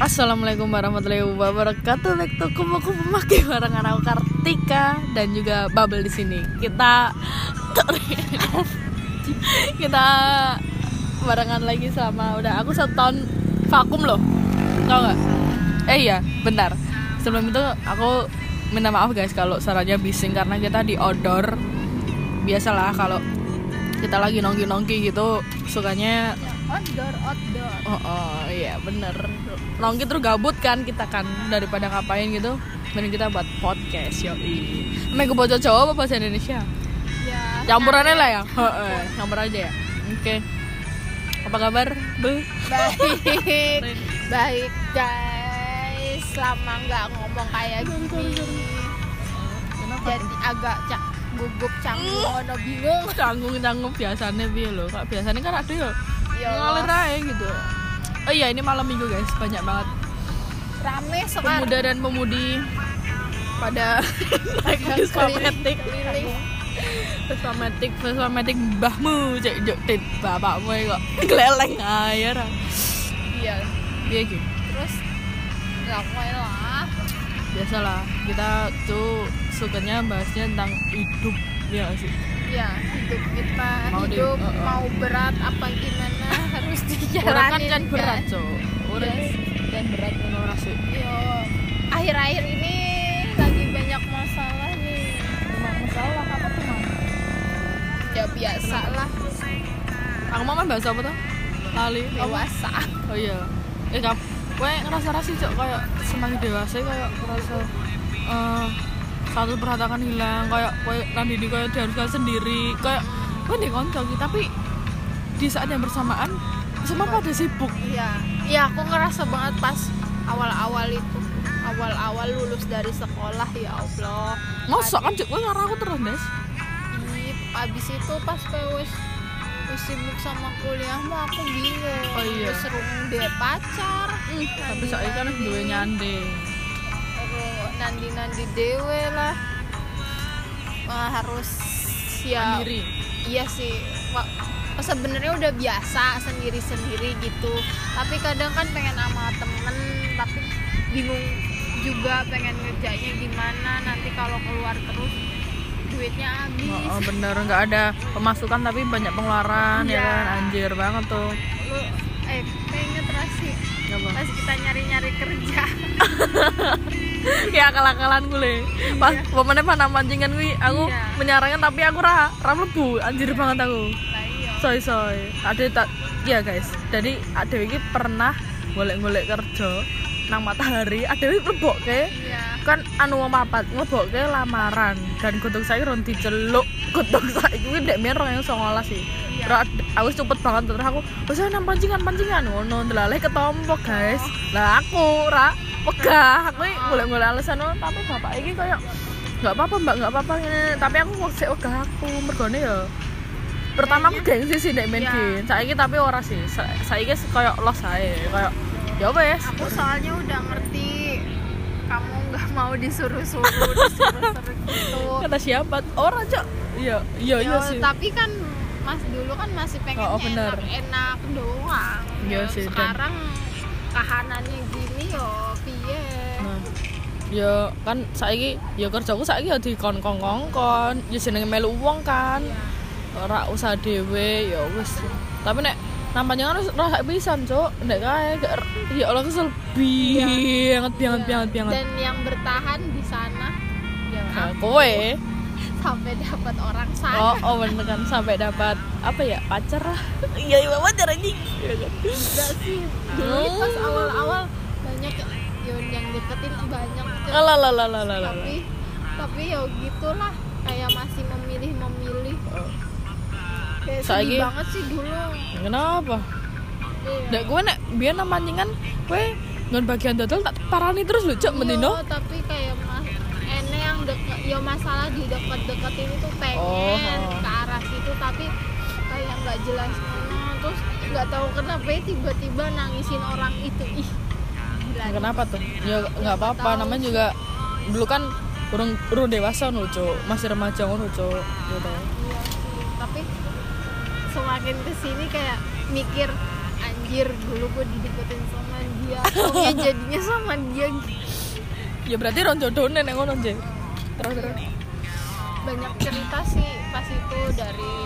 Assalamualaikum warahmatullahi wabarakatuh. Back to Kupu Maki barengan aku Kartika dan juga Bubble di sini. Kita barengan lagi selama udah aku 1 tahun vakum loh. Tau gak? Iya, bentar. Sebelum itu aku minta maaf guys kalau suaranya bising karena kita di outdoor. Biasalah kalau kita lagi nongki-nongki gitu sukanya outdoor. Oh iya bener. Nongki terus gabut kan kita kan, daripada ngapain gitu mending kita buat podcast. Yoi. Emang gue baca Jawa apa bahasa Indonesia? Ya, Campurannya lah ya. Campur aja ya. Oke. Apa kabar, Bu? Baik guys. Lama nggak ngomong kayak gini. Jadi agak gugup, canggung, bingung. Canggung biasanya piye lho. Kak biasanya kan ada ya. Ya Ngalir aja gitu. Oh iya, ini malam Minggu guys, banyak banget rame sekarang. pemuda dan pemudi pada naik Vespa-matic mbahmu, cek joktit bapakmu kok geleleng air. Iya. Iya gitu. Terus ramai lah. Biasalah, kita tuh sukanya bahasnya tentang hidup ya sih. Ya, hidup kita, mau berat apa gimana harus dijalanin. Kan berat, Cok. Yes. Dan berat menurut sih. Yo, akhir-akhir ini lagi banyak masalah nih. Masalah apa tuh, Mam? Ya biasa lah. Aku mau bahas apa tuh? Lali. Dewasa. Oh iya. Kowe ngerasa sih, Cok, kayak semakin dewasa kayak ngerasa satu perhatian hilang, kayak kowe nanti kayak diharuskan sendiri, kayak kowe nih koncoki tapi di saat yang bersamaan semua pada sibuk. Iya, aku ngerasa banget pas awal-awal lulus dari sekolah, ya Allah. Masa kan Cok, kowe ngarang aku terus, Des. Abis itu pas kowe wis sibuk sama kuliahmu, aku bingung. Oh iya. Seru deh pacar. Tapi saiki kan duwe nyande. Nandi dewe lah. Harus ya mandiri. Iya sih. Sebenarnya udah biasa sendiri gitu. Tapi kadang kan pengen sama temen, tapi bingung juga pengen ngerjainnya gimana. Nanti kalau keluar terus duitnya habis. Oh, bener, nggak ada pemasukan tapi banyak pengeluaran. Ya kan, anjir banget tuh. Lu keinget Rasi pas kita nyari kerja. Ya akal-akalan gue pas momennya panah pancingan gue aku menyarankan tapi aku ra mlebu anjir banget aku. Soy ada tak ya guys, jadi ada iki pernah golek-golek kerja nang Matahari, ada iki mlebokke kan anu wong papat mlebokke lamaran dan godhong saiki ron diceluk godhong saiki kuwi ndek men 2019 sih. Terus aku cepet banget terus aku wis nang pancingan ngono ndelale ketompo guys. Lah aku ra wegah, aku golek-golek alasan tapi bapak iki kayak enggak apa-apa Mbak, enggak apa-apa ngene. Tapi aku sik wegah aku mergone ya. Pertama aku gengsi sih ndek main game. Saiki tapi ora sih. Saiki kayak los ae, kayak ya wes. Aku soalnya udah ngerti kamu enggak mau disuruh-suruh gitu. Kata siapa? Ora, Cok. Iya sih. Tapi kan Mas dulu kan masih pengen enak doang. Iya sih. Sekarang kahanannya gini yo piye. Nah. Ya kan saiki ya kerjaku saiki ya dikon-kongkon, ya jenenge melu wong kan. Ora usah dhewe ya wis. Tapi nek nampaknya kan ora pisan, Cuk. Nek kae ya Allah kesel banget. Dan yang bertahan di sana ya kowe sampai dapat orang sana. Oh bener kan, sampai dapat apa ya, pacar lah. Iya pacar anjing. Enggak sih. Dulu pas awal-awal banyak yang deketin banyak. Lah. Tapi ya gitulah, kayak masih memilih. Kayak sedih banget sih dulu. Kenapa? Nek gue nek biyen nang pancingan kowe ngon bagian dodol tak parani terus lho, Cuk, mendino. Tapi kayak ene yang deket, ya masalah di deket-deketin itu pengen ke arah situ tapi kayak nggak jelas mana, terus nggak tahu kenapa tiba-tiba nangisin orang itu. Kenapa tuh? Ya nggak apa-apa, namanya juga dulu kan urung dewasa lho, Cuk, masih remaja ngono, Cuk, gitu. Iya sih, tapi semakin kesini kayak mikir anjir dulu gue dideketin sama dia pokoknya jadinya sama dia. Ya berarti ron jodohne nek ngono nje. Terus Banyak cerita sih pas itu dari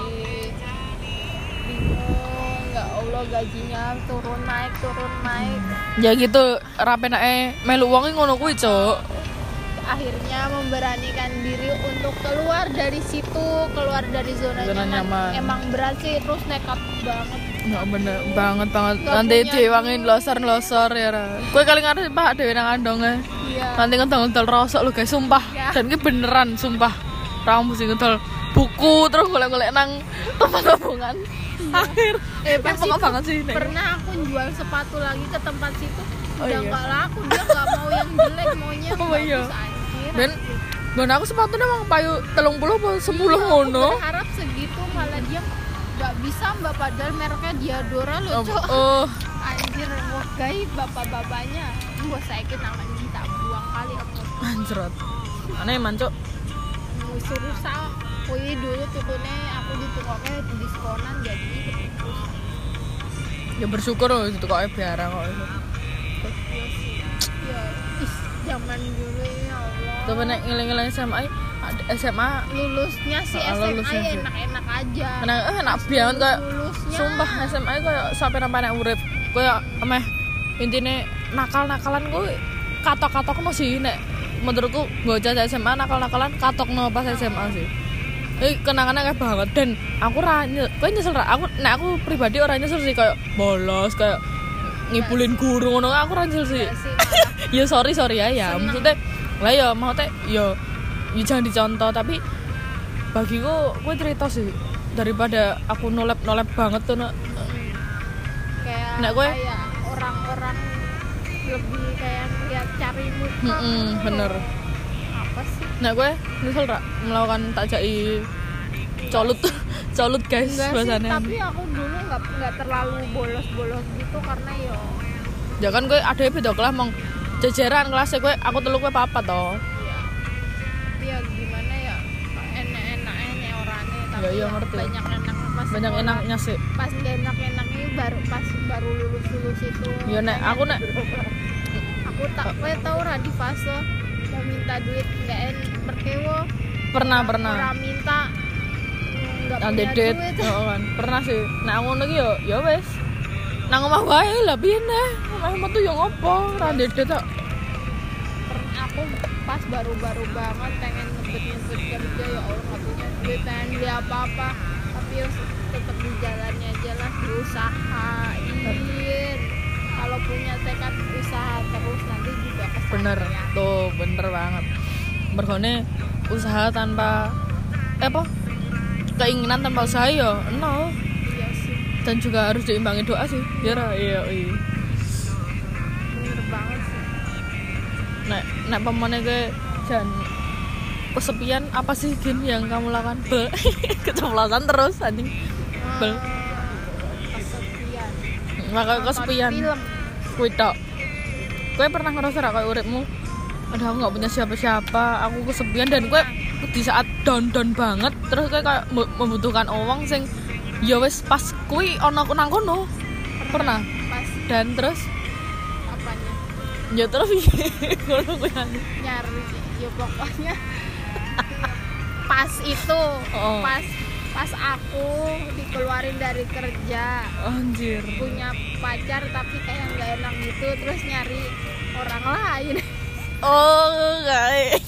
bingung, nggak Allah gajinya turun naik ya gitu rapenake melu wong ngono kuwi, Cuk. akhirnya memberanikan diri untuk keluar dari situ, keluar dari zona nyaman. Emang berat sih, terus nekat banget. Ya bener banget. Nggak Nanti punya diwangi losor ya ra. Kowe kali ngarep Pak dhewe nang andonge. Iya. Nanti ngedol rosok lu guys, sumpah. Ya. Dan iki beneran sumpah. Ra mesti ngedol buku terus golek-golek nang tempat tabungan. Akhir. Pas pokok itu banget sih. Nek. pernah aku jual sepatu lagi ke tempat situ, Oh, udah iya. nggak laku, dia nggak mau yang jelek, maunya yang Oh, bagus iya. anjir. Dan Bon aku sepatunya emang payu 30 apa 10 ngono. Aku berharap segitu, malah dia nggak bisa mbak, padahal mereknya Diadora loh, Cok. Oh, Anjir, wah gaib bapak-bapaknya. Gua sakit nangan kita buang kali aku. anjrot. Aneh mancuk. Suruh sah. Wih dulu tukune aku ditukoknya diskonan jadi terus. Ya bersyukur loh itu kok biara kok itu. Iya sih. Ya, zaman dulu ya Allah. Tuh nek ngiling-ngiling SMA Lulusnya sih lulusnya SMA ya sih. enak-enak aja. enak banget kayak Lulusnya. sumpah SMA kayak sampai namanya urip kayak emeh intine nakal-nakalan gue katok-katok masih nek menurutku bocah SMA nakal-nakalan katok no pas SMA sih. Kenangannya kayak banget dan aku gue nyesel aku pribadi orang nyesel sih kayak bolos kayak ngibulin guru ngono aku ora nyesel sih. Iya sih, malah. Ya sorry ya maksudnya lah ya mau teh ya jangan dicontoh tapi bagiku gue cerita sih daripada aku nolep banget tuh Kayak Nek gue- kayak orang-orang lebih kayak lihat cari muka. bener. Apa sih? Nah gue nyesel rak melakukan takjai colut guys Enggak sih, bahasanya. tapi aku dulu nggak terlalu bolos gitu karena Ya kan gue ada beda kelas mong jejeran kelasnya gue aku telu gue papat toh. ya gimana ya, enak-enaknya orangnya tapi Ya, iya, ngerti. banyak enak pas Banyak sekolah. enaknya sih. Pas gak enak-enaknya baru lulus itu. Ya nek aku nek aku tak kowe tau ra di fase mau minta duit nggak merkewo pernah orang minta nggak punya andedet duit. kan pernah sih. Nah aku ngono ki ya wes nang omah wae lah piye neh omah metu yo ngopo ra andedet tok. Aku pas baru-baru banget pengen ngebet kerja, ya Allah nggak punya duit, pengen beli apa-apa tapi ya tetap di jalannya aja lah, diusahain. Kalau punya tekad usaha terus nanti juga kesampean. Bener tuh bener banget mergone usaha tanpa apa keinginan tanpa usaha yo no. Iya sih, Dan juga harus diimbangi doa sih ya ra iya bener banget sih. nek pemane gue jan kesepian apa sih Gin yang kamu lakukan keceplosan terus anjing Bel. Kesepian. maka Nonton kesepian film. kuwi tok gue pernah ngerasa ra kayak uripmu aduh aku nggak punya siapa-siapa aku kesepian dan gue di saat down banget terus gue kayak membutuhkan uang sing ya wes pas kuwi ono nang kono pernah Pas dan terus apanya ya terus ngono kuwi nyari sih ya pokoknya pas itu Oh. pas aku dikeluarin dari kerja anjir punya pacar tapi kayak nggak enak gitu terus nyari orang lain. oh enggak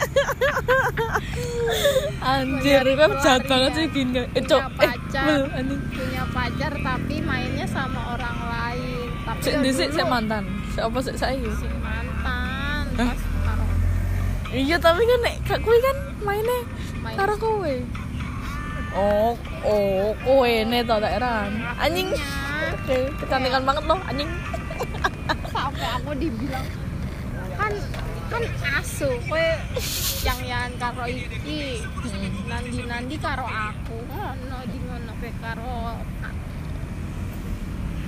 anjir gue jahat banget sih Gin Punya pacar. anjing Punya pacar tapi mainnya sama orang lain tapi sik ya dhisik dulu sik mantan sik apa sik saiki si mantan Hah? pas karo iya tapi kan nek kuwi kan mainnya main karo kowe oh kowe ne to daerah anjing oke kecantikan banget loh anjing sampai aku dibilang kan asu kowe yang karo iki nandi karo aku ngono di ngono pe karo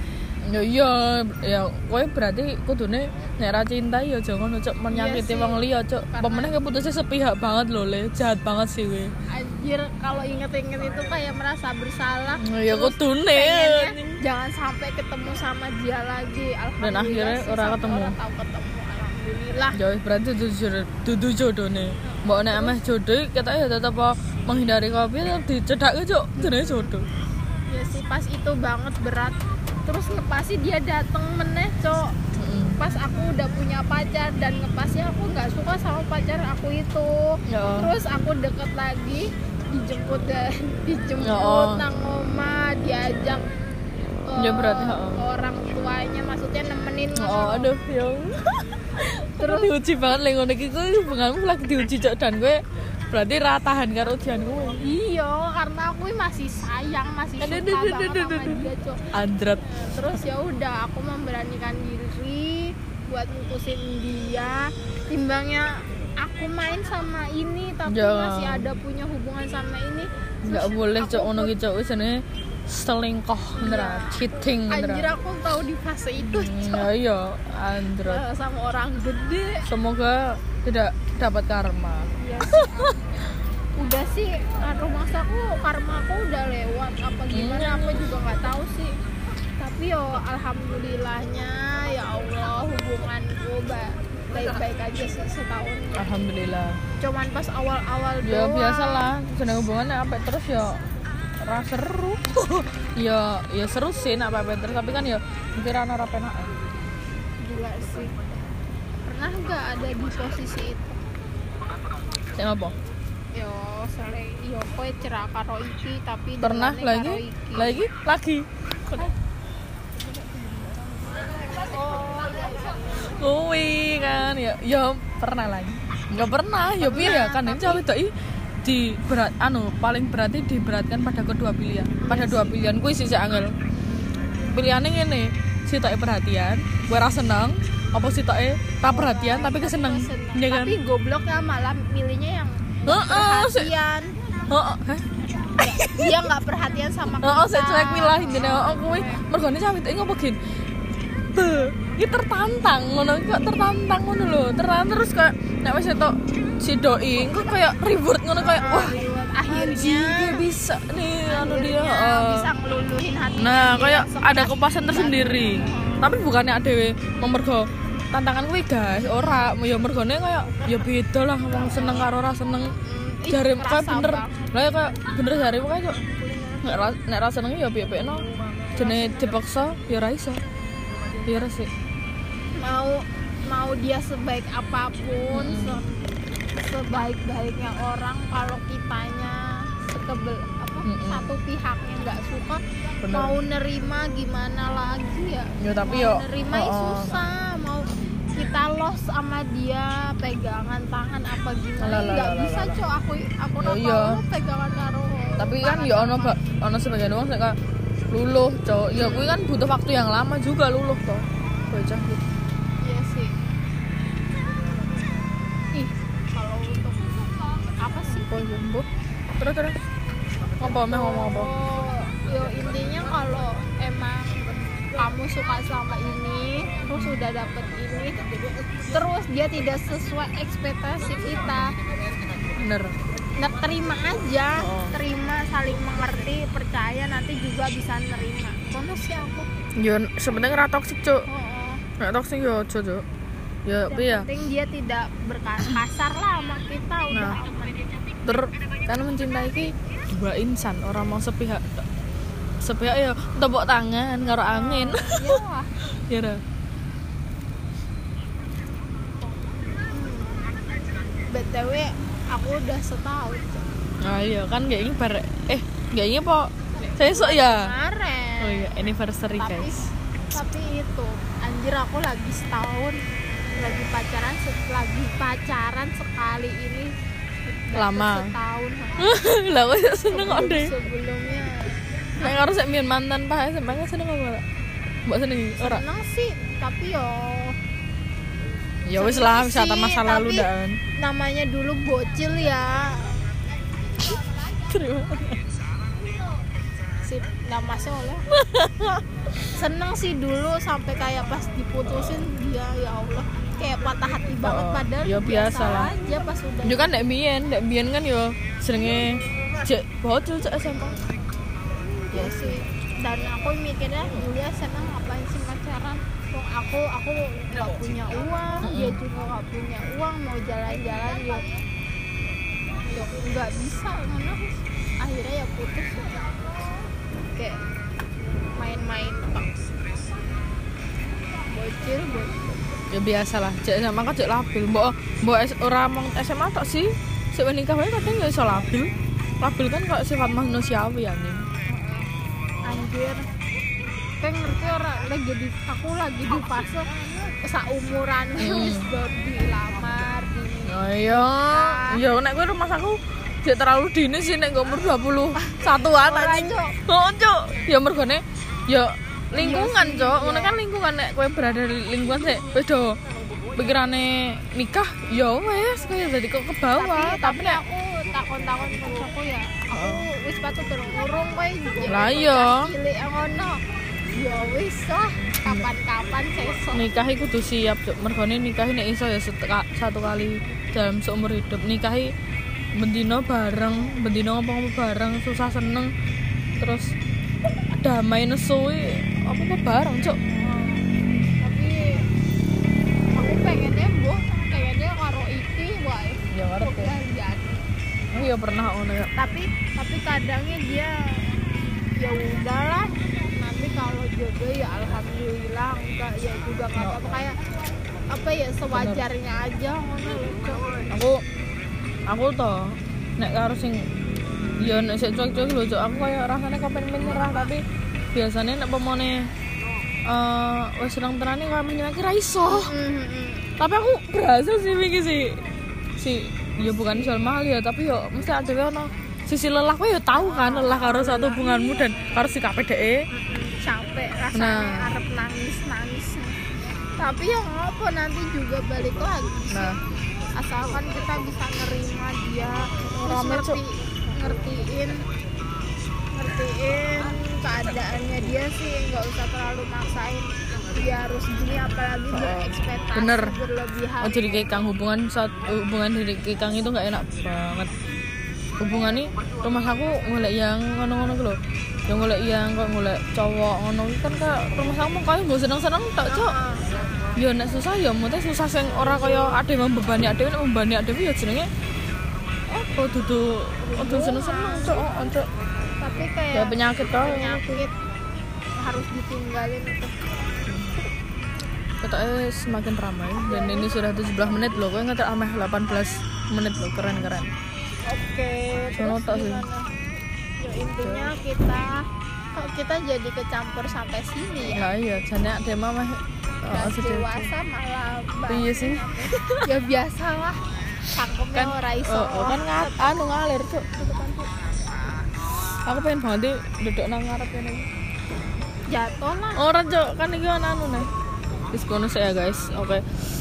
Ya iya, ya kowe berarti kudune nek ra cinta ya aja ngono cuk menyakiti wong liya cuk. Pemeneh keputusnya sepihak banget lho le, jahat banget sih kowe. Anjir, kalau inget-inget itu kayak merasa bersalah. Ya kudune. Jangan sampai ketemu sama dia lagi. Alhamdulillah. Dan akhirnya sih, ora sampai ketemu. ora tahu ketemu. Alhamdulillah. Ya wis berarti dudu jodone. Mbok nek ameh jodoh kita ya tetep menghindari kopi tetep dicedhakke cuk, jenenge jodoh. Ya sih pas itu banget berat. Terus ngepasi dia dateng meneh cok. Pas aku udah punya pacar dan ngepasnya aku nggak suka sama pacar aku itu. Ya. Terus aku deket lagi dijemput Ya. nang oma diajak Ya berarti orang tuanya maksudnya nemenin aduh ya. Terus diuji banget lek ngono iki kuwi hubunganmu lagi diuji cok dan gue berarti ra tahan karo ujian gue. Iya, karena aku masih sayang, masih suka banget sama dia, Cok. Andrat. Terus ya udah aku memberanikan diri buat mutusin dia. Timbangnya aku main sama ini tapi masih ada punya hubungan sama ini. Enggak boleh cok ngono ki cok wis jenenge selingkuh beneran, cheating beneran. Anjir aku tahu di fase itu, Cok. Ya iya, andrat. Sama orang gede. Semoga tidak dapat karma. Iya sih. Udah sih rumah aku karma aku udah lewat apa gimana aku juga nggak tahu sih, tapi yo alhamdulillahnya ya Allah hubunganku baik-baik aja sih setahun. Alhamdulillah. Cuman pas awal-awal Ya doang. biasalah jeneng hubungannya apa terus ya ra seru. ya seru sih nak apa terus tapi kan ya mikir ana ora penak. Gila sih. Pernah nggak ada di posisi itu? Sing apa? Yo kowe cerak karo iki tapi Pernah delane lagi. Kuwi kan ya pernah lagi. Enggak pernah, ya piye ya kan cewek wedok di berat paling berarti diberatkan pada kedua pilihan. Pada dua pilihan kuwi sih angel. Pilihane ngene, sitoke perhatian, gue ra seneng, apa sitoke ta perhatian tapi keseneng. Ya kan? Tapi gobloknya malah milihnya yang perhatian. Dia nggak perhatian sama kita. Saya cuek milah intine kuwi mergone cewek wedok ngopo gin. Iki tertantang ngono kok tertantang ngono lho. Terus kayak nek wis etok si doi kok kayak reward ngono kayak wah akhirnya dia bisa nih dia bisa ngeluluhin hati. Nah, kayak ada kepuasan tersendiri. Tapi bukannya adewe memergo tantangan kuwi guys, ora ya mergone kayak ya beda lah wong seneng karo ora seneng. Jare kayak bener. Lah ya kayak bener jare kayak nek ra seneng ya piye-piyeno. Jenenge dipaksa ya ora iso. Ya ora sih. Mau dia sebaik apapun, sebaik-baiknya orang kalau kitanya satu pihaknya nggak suka, bener. Mau nerima gimana lagi ya? Ya tapi mau nerima susah, mau kita los sama dia pegangan tangan apa gimana nggak bisa cok aku mau pegangan karo. Tapi kan ya ono sebagian orang kayak luluh cok. Ya gue kan butuh waktu yang lama juga luluh toh. Bocah gitu. Iya sih. Kalau untuk apa sih? Terus ngomong apa? Yo intinya kalau emang kamu suka sama ini, terus udah dapet ini, terus dia tidak sesuai ekspektasi kita. Bener. Nah, terima aja, terima, saling mengerti, percaya nanti juga bisa nerima. Kono sih aku. Ya sebenarnya ora toksik cuk. Nek toksik yo aja cuk. Ya piye? Yang penting dia tidak berkasar lah sama kita udah aman. Karena mencintai ki dua insan, orang mau sepihak ya tepuk tangan karo angin. Iya lah. Ya ora. BTW aku udah setahun. Nah iya kan kayak ini kayak ini po saya sok ya. Kemarin. Oh iya anniversary guys. Tapi itu anjir aku lagi setahun lagi pacaran sekali ini lama. Setahun. Lah kok seneng kok deh. Sebelumnya. Nek karo sik mian mantan Pak sampeyan seneng apa? Mbok seneng ora? Seneng sih, tapi ya wis lah wisata masa lalu dan namanya dulu bocil ya. Terima. sip nama soleh. Seneng sih dulu sampai kayak pas diputusin dia ya Allah kayak patah hati banget padahal ya biasa lah aja pas udah. Yo kan nek biyen kan yo senenge cek bocil cek SMP. Ya sih. Dan aku mikirnya Julia seneng ngapain sih pacaran? Wong aku nggak punya uang, dia juga nggak punya uang, mau jalan-jalan ya nggak bisa mana. Akhirnya ya putus. Kayak main-main bocil. Ya biasa lah cek SMA kan cek labil mbok ora mong SMA tok sih sik nikah wae kadang ya iso labil kan kok sifat manusiawi ya nih anjir kayak ngerti orang aku lagi di fase seumuran wis baru dilamar oh iya nek kowe rumah aku jek terlalu dini sih nek umur 21-an anjing oh cuk ya mergone ya lingkungan cok ngono kan lingkungan nek kowe berada di lingkungan sik wis do pikirane nikah ya wis kaya dadi kok ke bawah tapi nek aku takon-takon kancaku ya aku wis patut urung kowe lah iya cilik ngono ya wis lah kapan-kapan sesuk nikah iku kudu siap cok mergone nikah nek iso ya satu kali dalam seumur hidup nikahi bendino bareng bendino ngomong bareng susah seneng terus damai nesuwi apa bareng cok tapi aku pengennya kayaknya karo iki wae ya ngerti oh iya pernah ngono ya tapi kadangnya dia ya udahlah nanti kalau jodoh ya alhamdulillah enggak ya juga nggak apa-apa kayak apa ya sewajarnya aja ngono aku toh nek karo sing ya nek sik cuek-cuek lho cok aku kayak rasane kepen menyerah tapi biasanya nek pemone wis seneng tenane kaya menyerah ra iso. Tapi aku berhasil sih iki si ya bukan soal mahal ya tapi yo mesti ada ono sisi lelah kowe yo tahu kan lelah karo satu hubunganmu dan karo sikap dhek capek rasanya arep nangis tapi ya ngopo nanti juga balik lagi asalkan kita bisa nerima dia ngertiin keadaannya dia sih nggak usah terlalu maksain dia harus gini apalagi berekspektasi berlebihan. Oh jadi kekang hubungan dari kekang itu nggak enak banget hubungan nih rumah aku ngolek yang ngono-ngono lho yang ngolek yang kok ngolek cowok ngono kan kak rumah aku kaya nggak seneng-seneng tak cok ya nek susah ya mute susah sing ora kaya ade membebani ade nek membebani ade ya jenenge apa dudu seneng-seneng cok tapi kayak ya penyakit harus ditinggalin itu katanya semakin ramai dan ini sudah 17 menit loh, gue ngetek ameh 18 menit loh, keren oke, terus gimana? Ya intinya kita jadi kecampur sampai sini ya nah iya, jadinya ada mama dewasa malah iya sih ya biasa lah cangkemnya kan, ora iso kan ngalir tuh aku pengen banget duduk nang ngarep ini jatuh lah orang cok kan ini kan nih diskon saya guys oke.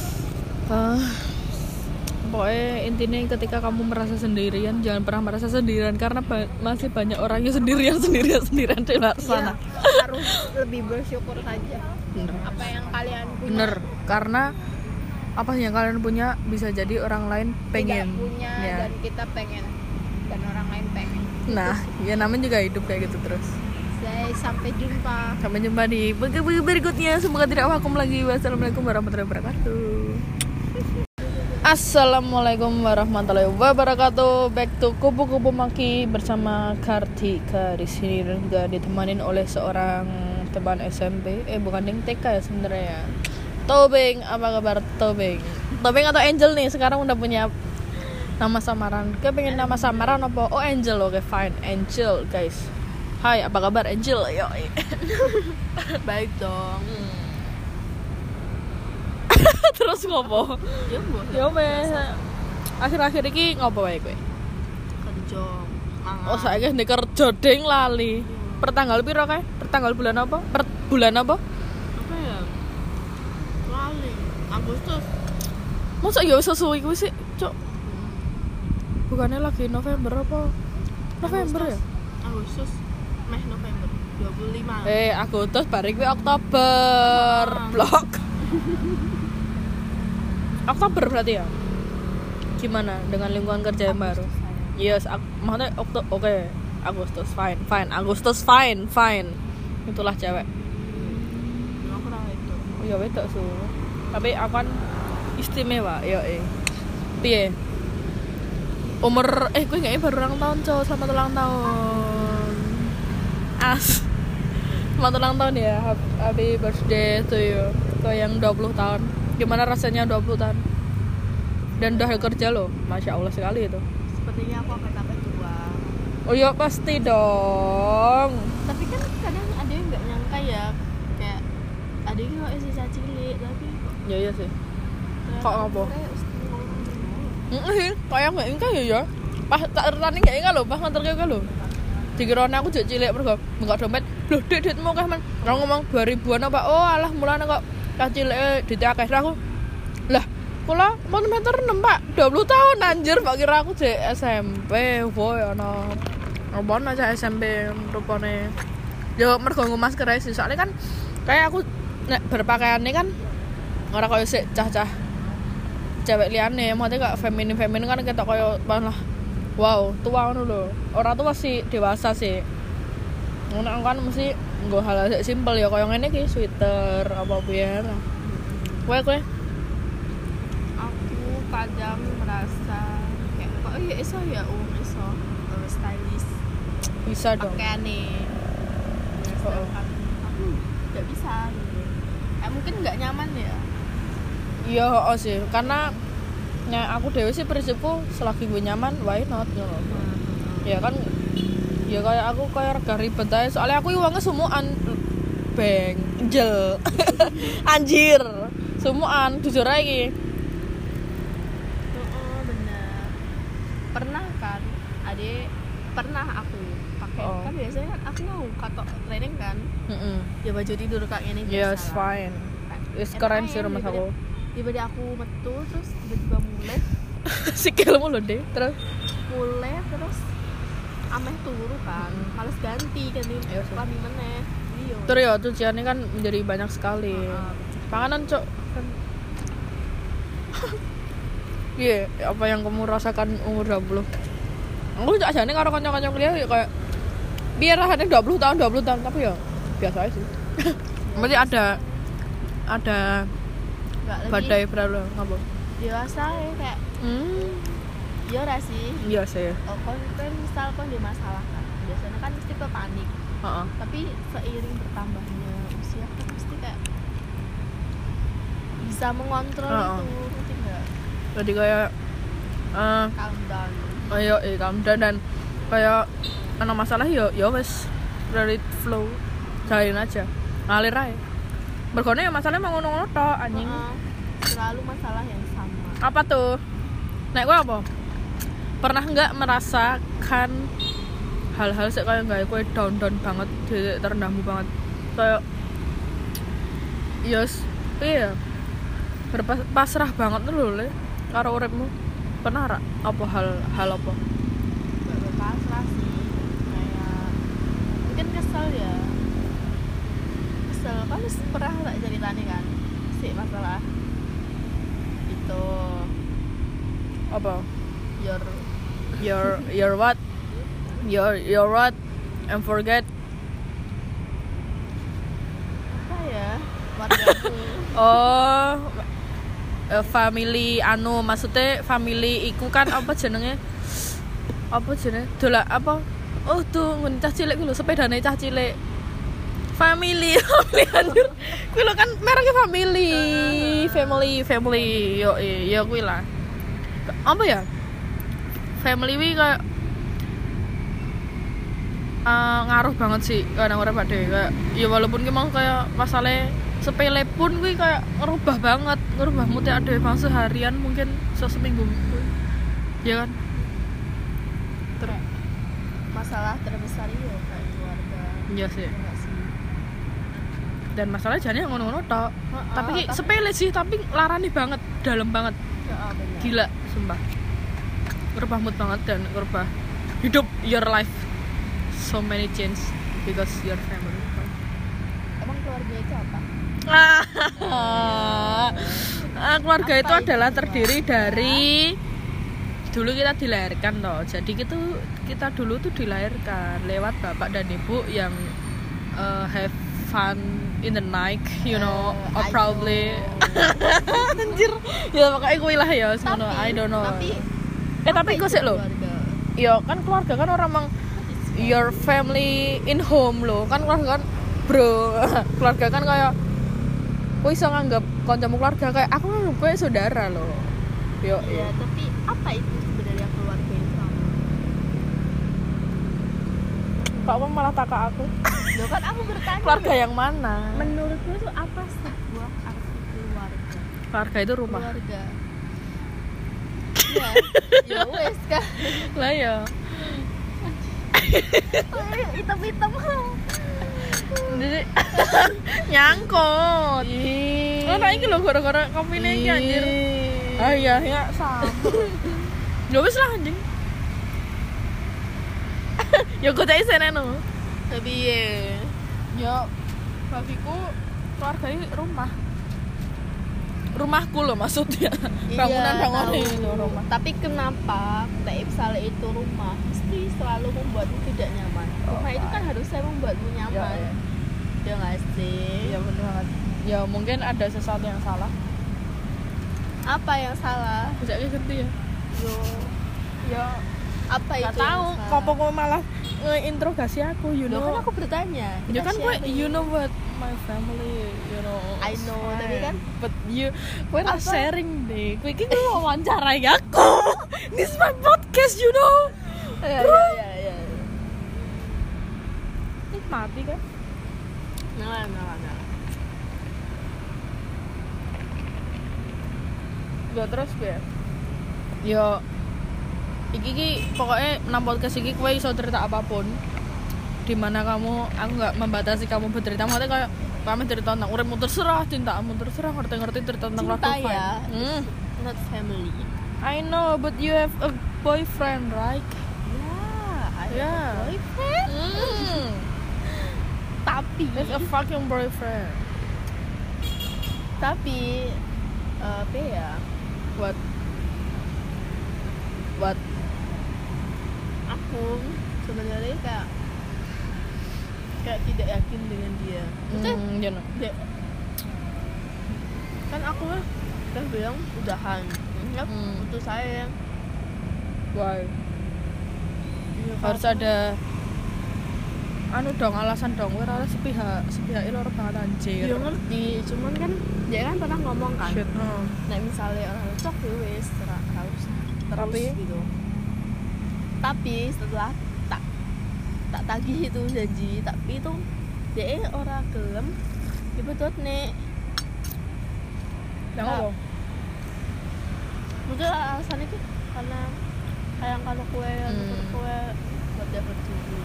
Pokoknya intinya ketika kamu merasa sendirian jangan pernah merasa sendirian karena masih banyak orang yang sendirian di luar sana harus lebih bersyukur saja bener. Apa yang kalian punya bener karena apa yang kalian punya bisa jadi orang lain pengen tidak punya ya. Dan kita pengen dan orang lain pengen nah ya namanya juga hidup kayak gitu terus. Sampai jumpa di berikutnya. Semoga tidak vakum lagi. Wassalamualaikum warahmatullahi wabarakatuh. Assalamualaikum warahmatullahi wabarakatuh. Back to Kupu-Kupu Maki bersama Kartika di sini dan juga ditemanin oleh seorang teman SMP. Bukan yang TK ya sebenarnya. Tobing, apa kabar Tobing? Tobing atau Angel nih? Sekarang udah punya nama samaran. Kayak pengen nama samaran apa? Oh Angel, oke fine. Angel guys. Hai, apa kabar Angel? Yo. Baik dong. Terus ngopo? Ya wes. Akhir-akhir iki ngopo wae kowe? Kerja. Oh, saiki ndek kerja ding lali. Pertanggal piro kae? Pertanggal bulan apa? Bulan apa? Apa ya? Lali. Agustus. Masa ya sesuai kuwi sih, Cuk? Bukannya lagi November apa? November ya? Agustus. Meh November 25. Agustus bareng kuwi Oktober. Blok. Oktober berarti ya? Gimana dengan lingkungan kerja yang baru? Yes, maksudnya oke. Agustus fine. Itulah cewek. Aku tahu itu. Oh ya wedok su. Tapi aku kan istimewa, yo piye? Umur gue nggak baru ulang tahun cowok, selamat ulang tahun. Selamat ulang tahun ya, happy birthday to you. Ke yang 20 tahun. Gimana rasanya 20 tahun? Dan udah kerja loh, masya Allah sekali itu. Sepertinya aku akan tambah tua. Oh iya pasti dong. Tapi kan kadang ada yang nggak nyangka ya, kayak ada yang nggak sisa cilik tapi kok. Ya iya sih. Kok apa? Kayak nggak ingat ya. Pas tak tertani nggak ingat loh, pas nganter ke lo. Dikirone aku jadi cilik pergo nggak dompet. Loh duitmu kah man? Orang ngomong 2000-an apa? Oh alah mulane kok cah cilik duit akeh aku. Lah kula mon meter 6 Pak, 20 tahun anjir, Pak kira aku jek SMP, boy ana. Apa aja SMP rupane. Yo mergo nggo masker ae sih, soalnya kan kayak aku nek berpakaiane kan ora koyo sik cah-cah cewek liyane, maksudnya kok feminin kan ketok koyo malah wow, tua ngono lho. Ora tuh masih dewasa sih. Ngono kan mesti nggo hal sik simpel ya koyo ngene iki, sweater apa piye. Kowe kadang merasa kayak kok ya iso stylish bisa dong pakaiannya aku nggak bisa gitu. Mungkin nggak nyaman ya. Iya sih karena aku dewe sih prinsipku selagi gue nyaman why not ngono. Ya kan ya kayak aku kayak rega ribet aja soalnya aku uangnya semuaan bengjel anjir semuaan jujur aja pernah aku pakai kan biasanya kan aku mau katok training kan ya baju tidur kayak ini yes fine is keren sih rumah aku tiba-tiba aku metu terus tiba-tiba mulai sikilmu loh deh terus ameh turu kan males ganti kami meneh terus ya cuciannya kan menjadi banyak sekali panganan cok kan iya apa yang kamu rasakan umur 20? Aku cak jane karo kanca-kanca kuliah ya kayak biar rasane 20 tahun tapi ya biasa aja sih. Mesti ada badai berlalu ngapa? Dewasa ya kayak ya ora sih. Iya sih. Kon misal di masalah kan. Biasanya kan mesti panik. Tapi seiring bertambahnya usia kan mesti kayak bisa mengontrol itu, ngerti enggak? Jadi kayak calm down. Ayo calm down dan kayak ana masalah ya wes let it flow. Jalanin aja. Ngalir aja. Mergone ya masalahnya mau ngono-ngono tok anjing. Selalu masalah yang sama. Apa tuh? Nek kowe apa? Pernah enggak merasakan hal-hal sik kayak gawe kowe down banget, terendahmu banget. Kayak yes, iya. Berpasrah banget lho le karo uripmu. Pernah ra apa hal apa? Berpasrah sih. Kayak mungkin kesel kan pernah tak ceritanya kan sih masalah itu apa? Your what? Your what? And forget apa ya? Wargaku. Family maksudnya family iku kan apa jenenge? Dola apa? Oh tuh cah cilik ku lho sepedane cah cilik. Family anjir. Kuwi lho kan mereknya family. Yo kuwi lah. Apa ya? Family wi kayak ngaruh banget sih kadang-kadang pada kayak ya walaupun memang kayak masalah sepele pun gue kayak ngerubah mood ya ada bang seharian mungkin seminggu ya kan terus masalah terbesar itu kayak keluarga iya sih dan masalah jadinya ngono-ngono tok tapi sepele sih tapi larani banget dalam banget gila sumpah ngerubah mood banget dan ngerubah hidup your life so many change because your family. Emang keluarga itu apa? Keluarga Apa itu adalah itu terdiri keluarga? dari dulu kita dilahirkan loh. Jadi kita dulu tuh dilahirkan lewat bapak dan ibu yang have fun in the night, you know, or I probably know. anjir. Ya pokoknya kuwi lah ya semono, I don't know. Tapi kok sih lo? Ya kan keluarga kan orang mang your family in home lo. Kan keluarga kan bro. Keluarga kan kayak kowe iso nganggap kancamu keluarga kayak aku nganggap kowe saudara lo. Yo, Ya, tapi apa itu sebenarnya keluarga itu? Pak Wong malah takak aku. Loh kan aku bertanya. Keluarga yang mana? Menurutmu itu apa sebuah arti keluarga? Keluarga itu rumah. Keluarga. Ya, ya wes kan. Lah ya. Hitam-hitam. Jadi nyangkut. Lo tak iki lho gara-gara kopine iki anjir. Ah iya ya sama. Ya wis lah anjing. Ya kok tak isene no. Tapi Ya bagiku keluarga ini rumahku loh maksudnya. Bangunan itu rumah. Tapi kenapa misalnya itu rumah mesti selalu membuatmu tidak nyaman? Rumah itu kan harusnya membuatmu nyaman. Ya nggak sih? Ya benar banget. Ya mungkin ada sesuatu yang salah. Apa yang salah? Bisa kayak gitu ya. Ya Apa itu? nggak tahu. Kok malah ngeinterogasi aku, you Loh, know. kan aku bertanya. Ya Kita kan gue, sharing. you know what my family, you know. I know, tapi kan but gue not apa? sharing deh. Gue ini wawancarai aku. This is my podcast, you know. Ya. Nikmati kan. Nah. Ya terus gue. Yo iki pokoknya nang podcast iki kowe iso cerita apapun. Dimana aku nggak membatasi kamu bercerita, maksudnya kayak kami cerita tentang uripmu terserah, cintamu terserah, ngerti cerita tentang Cinta keluarga ya, fine. not family. I know, but you have a boyfriend, right? I have Yeah. a boyfriend. Tapi That's a fucking boyfriend. apa ya? What? Aku sebenarnya kayak tidak yakin dengan dia. You know. Kan aku udah bilang udahan. Ya, putus sayang. Why? Ya, Harus ada alasan dong, ora sepihak loro banget anjir. Ya ngerti, cuman kan dia kan pernah ngomong kan. Shit. Nah misalnya orang cocok ya wes harus terus gitu. Tapi setelah tak tagih itu janji, tapi itu dia orang gelem betul nih. Yang apa? Mungkin alasannya itu karena kayak kalau kue buat dapat jodoh.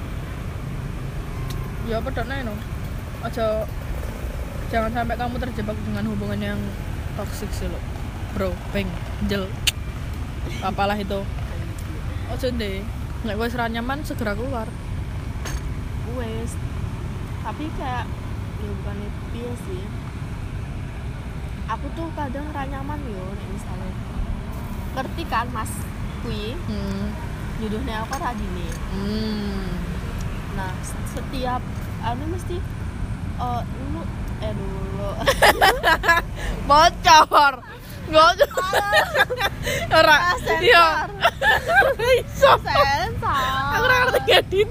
Ya pedoknya no. Jangan sampai kamu terjebak dengan hubungan yang toksik sih lo. Bro, jel. Apalah itu. Ojo deh. Nek wis ra nyaman segera keluar. Wes. Tapi kayak ya bukan itu sih. Aku tuh kadang ra nyaman yo nek misalnya. Ngerti kan Mas kui? Jodohnya aku ra dini. Nah, setiap mesti dulu Bocor. Ora. Iya. Iso. sensor. Aku ora ngerti ngedit.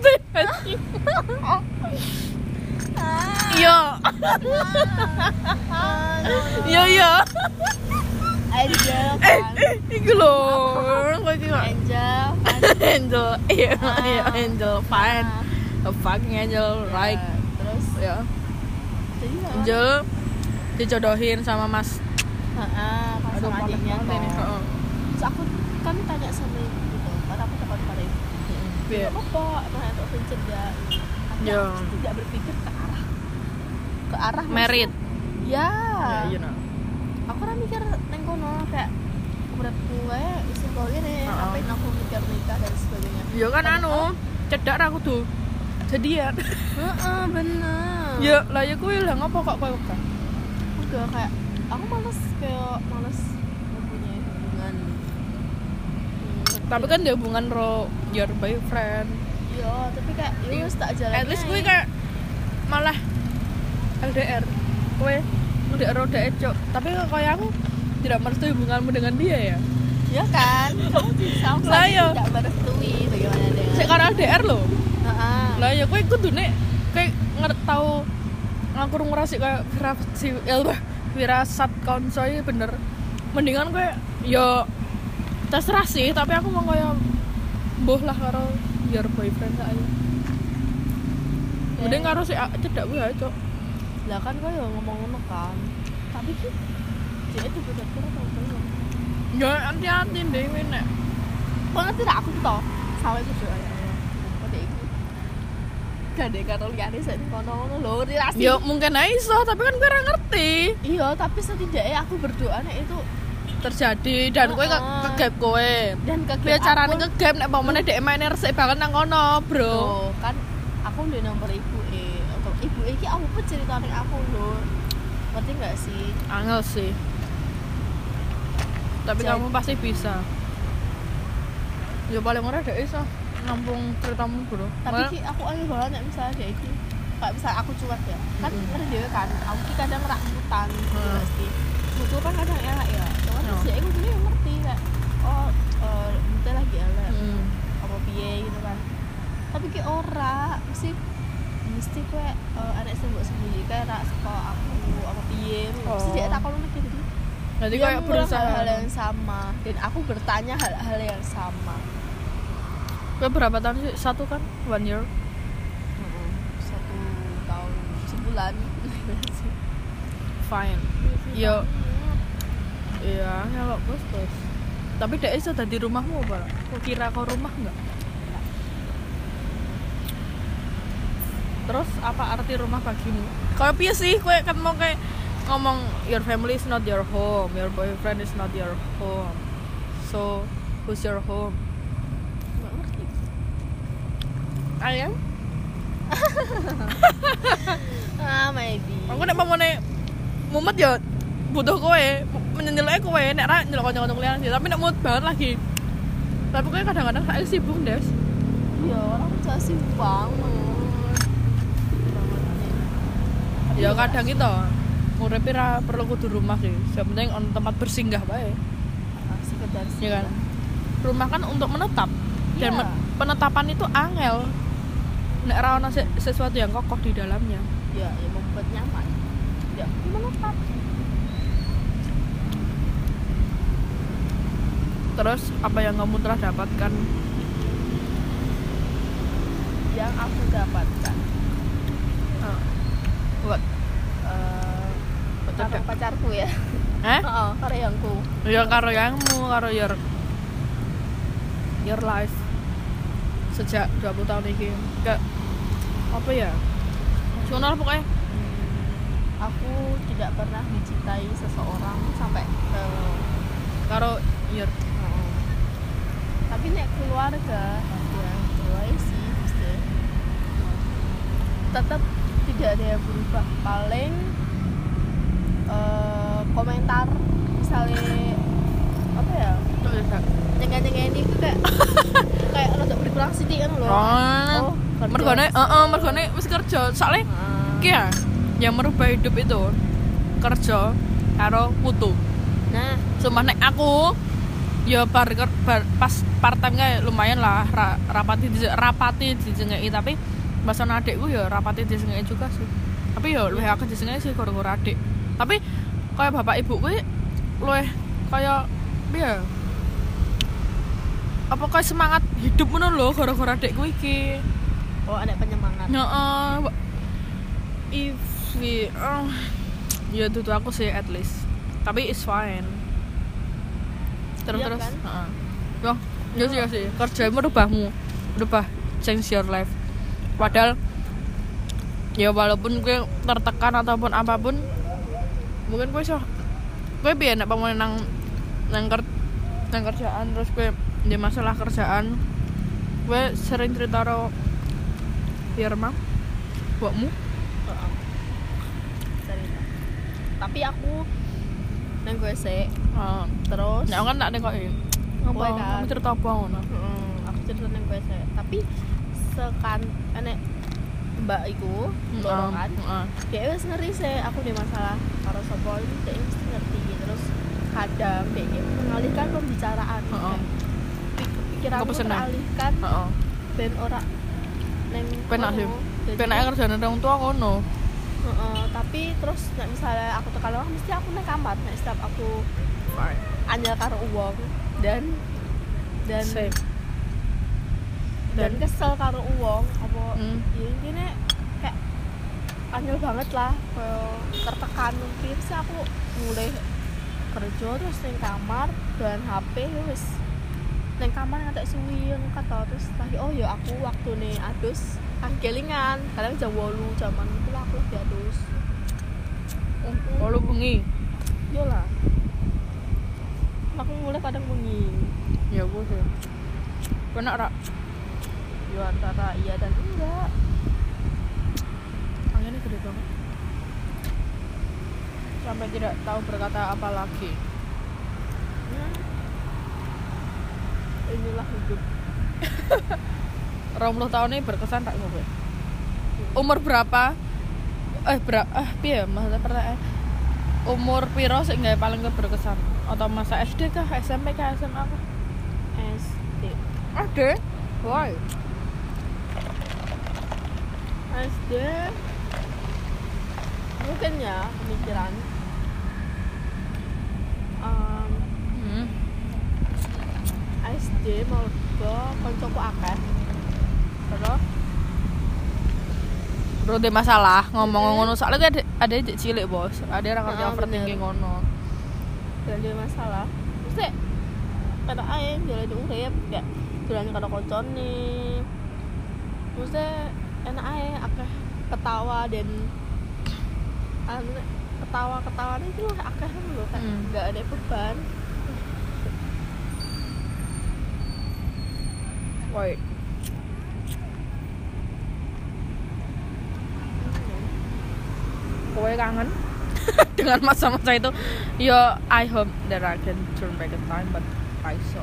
Iya. Iya. Angel kan. Iku lho. Kowe iki kok Angel kan. angel. Iya, angel fine. A fucking angel, right? Terus Ya. jadi Angel dijodohin sama Mas. pas sama panas adiknya banget ini. toh. Terus aku kan tanya sama ibu gitu, karena aku takut pada ibu. Iya. Apa? Emang itu pencet ya? Ya. Tidak berpikir ke arah Merit. Ya. Ya, you know. Aku kan mikir neng kono kayak berat gue isi kau ini ngapain aku mikir nikah dan sebagainya. Ya kan cedak aku tuh. jadian. Heeh, bener. Ya lah ya kuwi lah ngopo kok kowe kan. Udah kayak aku males mempunyai hubungan. Tapi kan dia hubungan ro your boyfriend. Iya, tapi kayak ya wis tak jalan. At least kuwi kayak malah LDR. Kowe udah LDR cok. Tapi kayak aku tidak merestui hubunganmu dengan dia ya. Ya kan? Kamu bisa Lah, iya. tidak merestui bagaimana dengan. Sik karo LDR lho. Heeh. Lah ya kowe kudune kayak tau aku ngerasik kayak firasat konco iki bener. Mendingan kowe yo terserah sih, tapi aku mau kayak mbuh lah karo your boyfriend saya. Mending karo si cedak kuwi ae, Cok. Lah kan kau yang ngomong ngono kan. Tapi ki dia itu bener-bener tau belum. Ya hati-hati dhewe nek. Kau ngerti tak aku toh sampai itu doa ya. Kode iki. Gade karo liyane sik kono-kono lho relasi. Ya mungkin ae iso, tapi kan kowe ora ngerti. Iya, tapi setidaknya aku berdoa nek itu Terjadi dan kowe kegap kowe. dan Piye carane kegap nek pamane dhek main resik banget nang kono, Bro. Loh, kan aku udah nomor ibuke. Ibuke iki apa ceritane aku lho. Ngerti enggak sih? Angel sih. Tapi Jadi- kamu pasti bisa. Ya paling ora dhek iso nampung ceritamu, Bro. Tapi ki aku aneh banget nek misalnya dia iki kayak misal aku cuek ya. Kan ngerti dhewe kan. Aku ki kadang rakutan gitu pasti. Mutu kan kadang elek ya. Cuman Oh. sih aku dhewe ngerti kayak mutu lagi elek. Apa piye gitu kan. Tapi ki ora mesti kowe anak sembunyi kayak rak saka aku apa piye. Mesti dia tak kono gitu. Jadi Dia kayak mengulang berusaha. hal yang sama dan aku bertanya hal-hal yang sama. Kowe berapa tahun sih? 1 kan? 1 year. 1 tahun sebulan. Fine. Yo. Iya, ngelok bos. Tapi dhek iso dadi rumahmu apa? Kok kira kau rumah enggak? Terus apa arti rumah bagimu? Kayak piye sih kowe kan mau kayak ngomong your family is not your home, your boyfriend is not your home. So, who's your home? Nggak ngerti. Ayam? Maybe. Aku nek pamane mumet ya butuh kowe, menyendelek kowe nek ra nyelok kanca-kanca kuliah sih, tapi nek mood banget lagi. Tapi kowe kadang-kadang saya sibuk, Des. Iya, orang bisa sibuk banget. Ya kadang gitu. Uripe ra perlu kudu rumah sih. Yang penting on tempat bersinggah bae. Sekedar Ya kan? Rumah kan untuk menetap. Dan Iya. penetapan itu angel. Nek ra ono sesuatu yang kokoh di dalamnya. Ya, yang membuat nyaman. Ya, gimana Pak? Terus apa yang kamu telah dapatkan? Yang aku dapatkan Buat karo pacarku ya. Heeh, karo yangku. Ya karo yangmu, karo your life sejak 20 tahun ini. Kayak apa ya? Soalnya pokoknya Aku tidak pernah dicintai seseorang sampai karo your tapi nek keluarga ya mulai sih mesti tetap tidak ada yang berubah paling komentar misalnya apa ya nyengen itu kayak kayak rada berkurang sedikit kan loh. mergone wis kerja. Soalnya iki ya yang merubah hidup itu kerja karo putu. Nah, Sumpah nek aku ya pas part time kayak lumayan lah rapati dijengeki, tapi pas ana adikku ya rapati dijengeki juga sih. Tapi ya luwih akeh dijengeki sih gara-gara adik. Tapi kayak bapak ibu kuwi luwih kayak piye? Apa kayak semangat hidup ngono lho gara-gara adikku iki. oh ada penyemangat. Heeh. Ya itu aku sih at least. Tapi it's fine. Terus Iya kan? Heeh. Ya sih. Kerja merubah change your life. Padahal ya walaupun gue tertekan ataupun apapun, mungkin gue piye nek pamane nang kerjaan terus gue di masalah kerjaan gue sering cerita karo Ya remang. Buatmu? Cerita. Tapi aku nang WC terus Ya kan tak nekoki. Apa? Kowe kan. Kamu cerita apa ngono? Aku cerita nang WC. Tapi enek mbak iku loro kan. Dia wis ngerti sih aku di masalah karo sapa iki dia mesti ngerti. Terus kadang dia mengalihkan pembicaraan. Pikiranku teralihkan. Ben ora neng Penak sih. Penak kerjane wong tua ngono. Tapi terus nek misalnya aku tekan orang mesti aku nang kamar nek setiap aku anyel karo wong dan Same. dan kesel karo wong apa ya intine kayak anyel banget lah kayak tertekan mungkin sih aku mulai kerja terus nang kamar dan HP wis nang kamar ngantek suwi kata terus lagi oh ya aku waktu nih adus kelingan kadang jam 8 jaman itu lah aku lagi adus Kalau bengi. yo lah aku mulai kadang bengi Ya gue sih. Penak rak. yo antara iya dan enggak Anginnya gede banget. Sampai tidak tahu berkata apa lagi. Inilah hidup 20 tahun ini berkesan tak gue? Umur berapa? Piye maksudnya pertanyaan. Umur piro sing gawe paling berkesan? Atau masa SD kah, SMP kah, SMA kah? SD SD? Why? SD mungkin ya pemikiran SD mau ke koncoku akeh terus Bro, ada masalah ngomong ngono soalnya ada cilik bos, ada orang ngerti overthinking ngono. dan dia masalah mesti pada ae jalan urip kayak jalan karo koncone mesti enak ae akeh ketawa dan ketawa-ketawa itu akeh lho kan enggak ada beban. Wait. Kowe kangen dengan masa-masa itu? Ya, I hope that I can turn back in time, but I saw.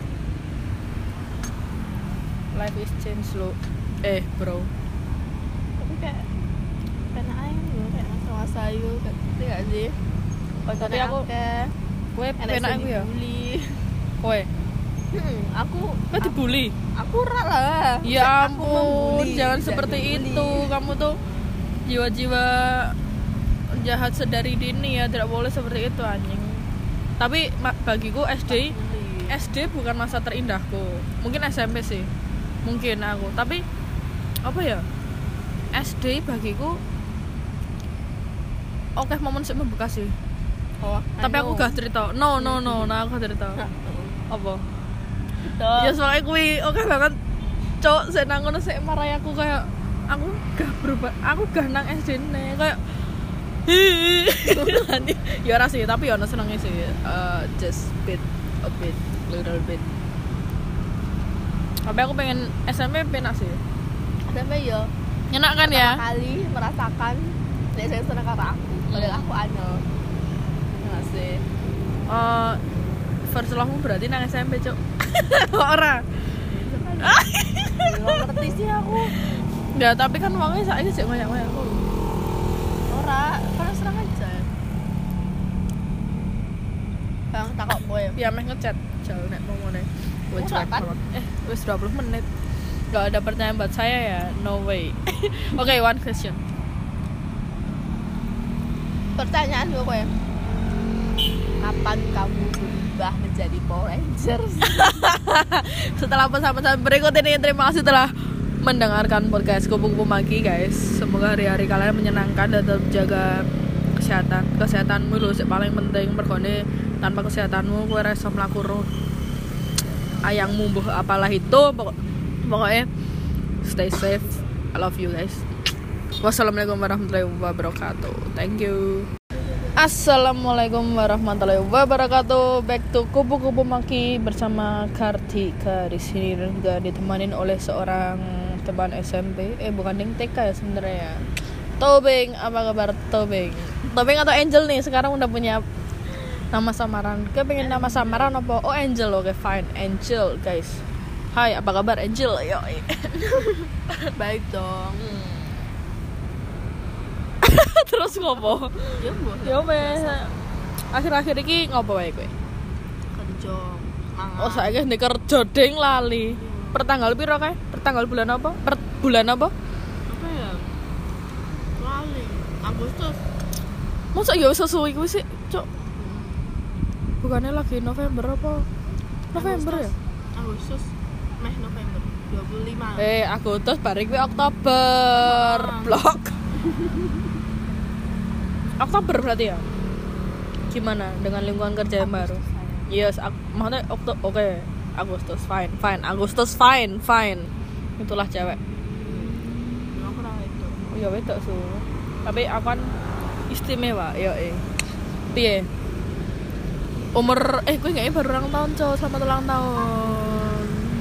Life is change lo. Bro. Tapi kayak enak aja gitu kayak masa-masa itu ngerti gak sih? Tapi aku kowe penak aku ya. Kowe aku dibully. Aku rak lah. Ya ampun, jangan seperti itu. Kamu tuh jiwa-jiwa jahat sedari dini ya, tidak boleh seperti itu anjing. Tapi bagiku SD bukan masa terindahku. Mungkin SMP sih. Mungkin aku. Tapi apa ya? SD bagiku oke momen sih membekas sih. Tapi aku gak cerita. No, aku gak cerita. Apa? Ya soalnya kuwi oke banget. Cok, sik nang ngono sik marai aku kayak aku gak berubah. Aku gak nang SD ne kayak ya ora sih, tapi ya ono senenge sih. Just a little bit. Tapi aku pengen SMP penak sih. SMP yo. Enak kan ya? Kali merasakan nek saya seneng karo aku. Padahal aku anyel. Enggak sih. First love-mu berarti nang SMP, Cuk. Ora. Enggak ngerti sih aku. Ya, tapi kan wongnya saiki sik ngoyak-ngoyak aku. Ora, kan serang aja. Bang takok kowe. Ya meh ngechat jauh nek ngomongane. Wis 20 menit. Gak ada pertanyaan buat saya ya. No way. Okay, one question. Pertanyaan gue kowe. Kapan kamu berubah menjadi Power Rangers? Setelah pesan-pesan berikut ini, terima kasih telah mendengarkan podcast Kupu-Kupu Maki guys. Semoga hari-hari kalian menyenangkan dan tetap jaga kesehatanmu lho sing paling penting. Mergone tanpa kesehatanmu kowe ora iso mlaku ayangmu mbuh apalah itu pokoknya stay safe. I love you guys. Wassalamualaikum warahmatullahi wabarakatuh. Thank you. Assalamualaikum warahmatullahi wabarakatuh. Back to Kupu-Kupu Maki bersama Kartika di sini dan juga ditemanin oleh seorang teman SMP bukan yang TK ya sebenarnya ya. Tobing, apa kabar Tobing? Tobing atau Angel nih sekarang udah punya nama samaran. Kayak pengen nama samaran apa? Oh Angel, oke fine, Angel guys. Hai, apa kabar Angel? Yo. Baik dong. Terus ngopo? Ya wes. Akhir-akhir iki ngopo wae kowe? Kerja. Oh, saiki ndek kerja ding lali. Pertanggal piro kae? Pertanggal bulan apa? Bulan apa? Apa ya? Lali. Agustus. Masa ya wis sesuai kuwi sih, Cuk. Bukannya lagi November apa? November ya? Agustus. November 25. Agustus bareng kuwi Oktober. Blok. Oktober berarti ya? Gimana dengan lingkungan kerja yang baru? Yes, maksudnya oke. Agustus fine. Agustus fine. Itulah cewek. Aku ora itu. Oh ya wedok su. Tapi aku kan istimewa, yo piye? Umur gue kayaknya baru ulang tahun, Cok. Selamat ulang tahun.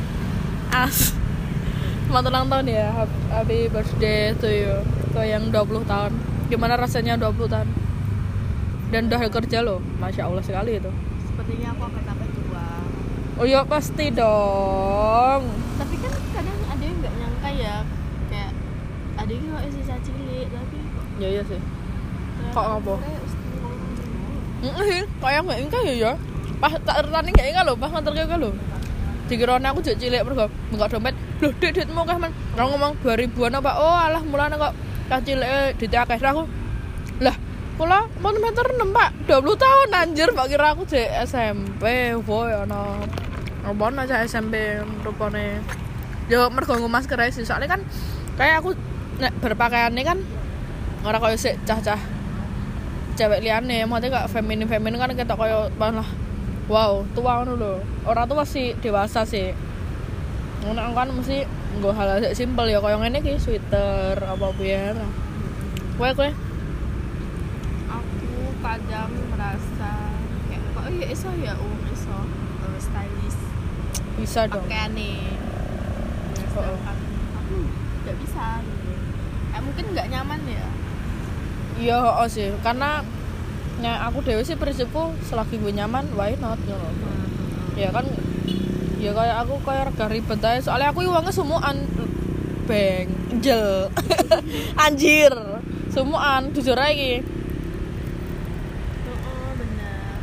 Selamat ulang tahun ya. Happy birthday to you. Ke yang 20 tahun. Gimana rasanya 20 tahun? Dan udah kerja loh. Masya Allah sekali itu. Sepertinya aku akan tambah tua. Oh iya pasti dong. Tapi kan kadang ada yang nggak nyangka ya, kayak ada yang nggak isi cilik tapi kok. Ya iya sih. Kok apa? Kayak nggak ingka ya. Pas tak tertani nggak ingka loh, pas nganter kayak loh. Dikirone aku jadi cilik mergo enggak dompet. Loh, duitmu kah men? Orang ngomong 2000-an apa? Oh, alah mulane kok cah cilik duit akeh aku. Lah, kula mon meter 6, Pak. 20 tahun anjir, Pak kira aku jek SMP. Woy ana. Apa aja SMP rupane. Yo mergo nggo masker ae sih. Soalnya kan kayak aku nek berpakaiane kan ora koyo sik cah-cah cewek liyane, maksudnya gak feminin kan ketok koyo malah wow, tua ngono lho. Ora tuh masih dewasa sih. Ngono kan mesti nggo hal sik simpel ya koyo ngene iki sweater apa piye. Kowe Aku kadang merasa kayak kok ya iso stylish bisa dong. pakaiane. Sedangkan aku nggak bisa gitu. Mungkin nggak nyaman ya. Iya, sih. Karena aku dewe sih prinsipku selagi gue nyaman, why not ngono. Ya kan ya kayak aku kayak rega ribet aja. Soalnya aku uangnya semuaan jel. Anjir. Semuaan jujur aja iki. Bener.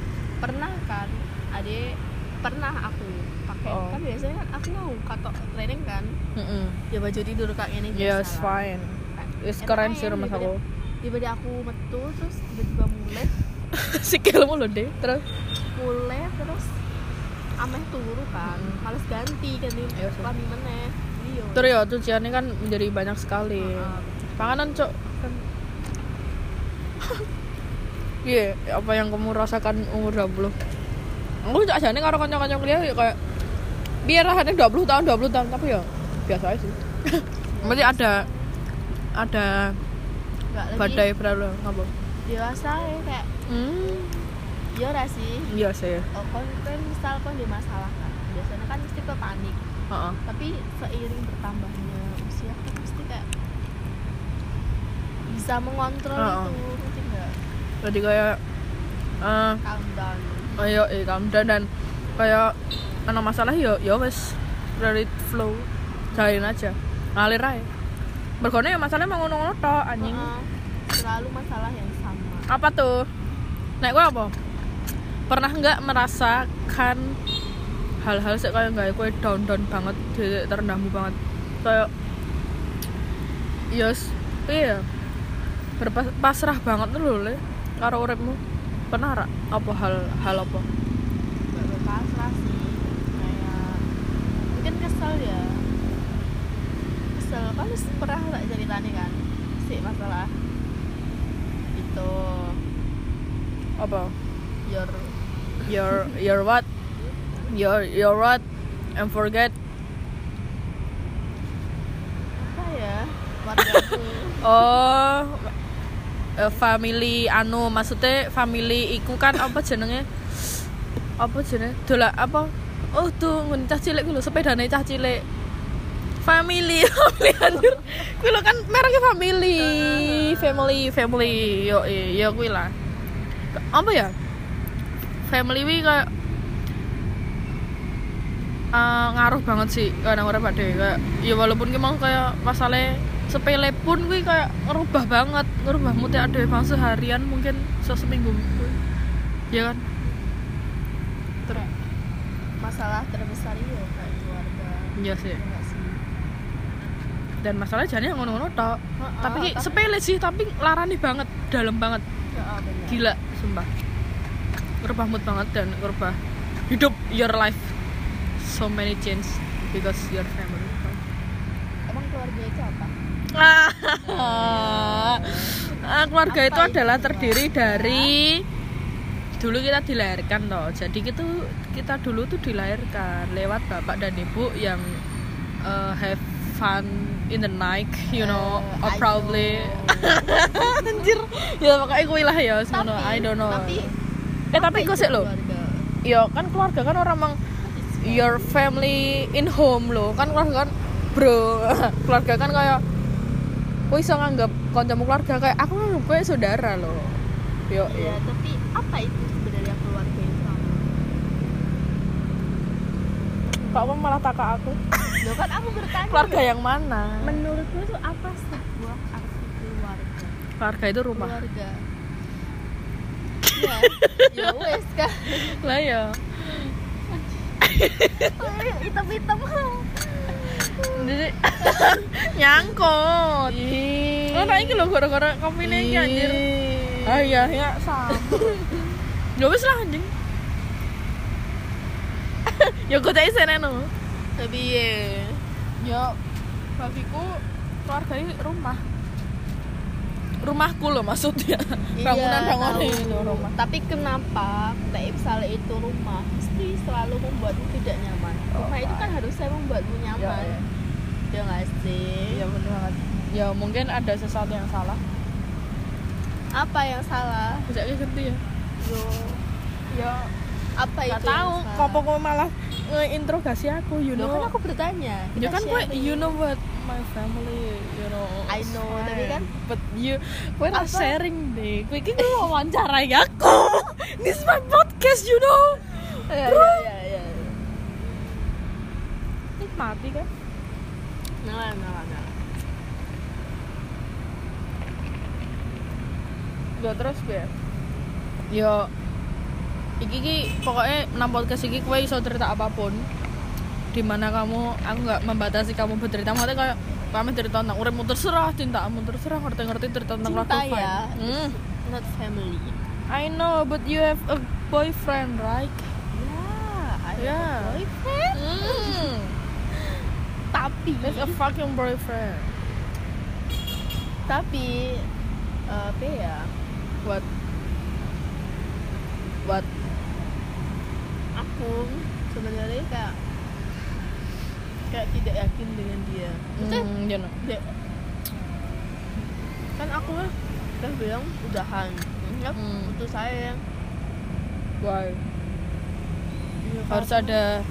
Pernah aku pakai kan biasanya kan aku mau katok training kan. Ya baju tidur kayak gini biasa. Yes, fine. Is keren sih rumah aku. Tiba-tiba aku metu terus tiba-tiba mulai sikilmu lho deh terus ameh turu kan males ganti lami meneh iya terus ya cuciannya kan menjadi banyak sekali panganan cok kan iya apa yang kamu rasakan umur 20 aku cak jane karo kanca-kanca kuliah kayak biar rasanya 20 tahun tapi ya biasa aja sih berarti ada badai berlalu ngapa dewasa ya kayak iya ora sih iya sih kan misal di masalah kan biasanya kan mesti ke panik tapi seiring bertambahnya usia kan mesti kayak bisa mengontrol itu ngerti nggak jadi kayak calm down calm down dan kayak ana masalah ya wes let it flow jalanin aja ngalir aja berkone ya masalahnya mau ngono-ngono tok anjing selalu masalah yang sama apa tuh nek gue apa pernah nggak merasakan hal-hal sih kayak nggak gue down banget terendahmu banget kayak iya berpasrah banget loh le karo uripmu pernah apa hal apa nggak berpasrah sih kayak mungkin kesel kan pernah tak ceritanya kan sih masalah itu apa your what and forget apa ya wargaku family maksudnya family iku kan apa jenenge dola apa tuh cah cilik lho sepedane cah cilik Family anjir. Kuwi lho kan mereknya family. Yo kuwi lah. Apa ya? Family wi kayak ngaruh banget sih kadang orang pada kayak ya walaupun memang kayak masalah sepele pun gue kayak ngerubah mood ya ada bang seharian mungkin seminggu ya kan terus masalah terbesar itu kayak keluarga iya sih dan masalah jadinya ngono-ngono tok tapi sepele sih tapi larani banget dalam banget gila sumpah ngerubah mood banget dan ngerubah hidup your life so many change because your family. Emang keluarga itu apa? Keluarga apa itu adalah terdiri dari dulu kita dilahirkan toh. Jadi kita dulu tuh dilahirkan lewat bapak dan ibu yang have fun in the night, you know, or probably anjir. Ya pokoknya kuwi lah ya semono. I don't know. Tapi kok sih lo? Ya kan keluarga kan orang mang your family in home lo kan keluarga kan bro keluarga kan kayak gue bisa nganggap kancamu keluarga kayak aku nganggap gue saudara lo yo ya tapi apa itu sebenarnya keluarga itu Pak Om malah takak aku lo kan aku bertanya keluarga yang mana menurutmu itu apa sebuah arti keluarga itu rumah keluarga ya wes kan lah ya hitam-hitam jadi nyangkut oh nah ini loh gara-gara kopi ini anjir iya ya sama ya wis lah anjing ya gue tak isen no tapi ya bagiku keluarga ini rumahku loh maksudnya bangunan itu rumah tapi kenapa misalnya itu rumah mesti selalu membuatmu tidak nyaman rumah itu kan harusnya membuatmu nyaman ya nggak sih ya benar banget ya mungkin ada sesuatu yang salah apa yang salah bisa kayak gitu ya ya apa itu nggak tahu kok malah ngeinterogasi aku you know kan aku bertanya ya kan gue you know what my family you know I know tapi kan but gue not sharing deh gue ini wawancarai aku this is my podcast you know ya nikmati kan nah gak terus gue yo iki pokoknya nang podcast iki kowe iso cerita apapun dimana aku nggak membatasi kamu bercerita maksudnya kayak kami cerita tentang uripmu terserah cintamu terserah ngerti cerita tentang cinta ya not family I know but you have a boyfriend right I have a boyfriend tapi that's a fucking boyfriend tapi apa ya what aku sebenarnya kayak tidak yakin dengan dia. Kan aku udah bilang udahan, putus sayang. Why? Harus ada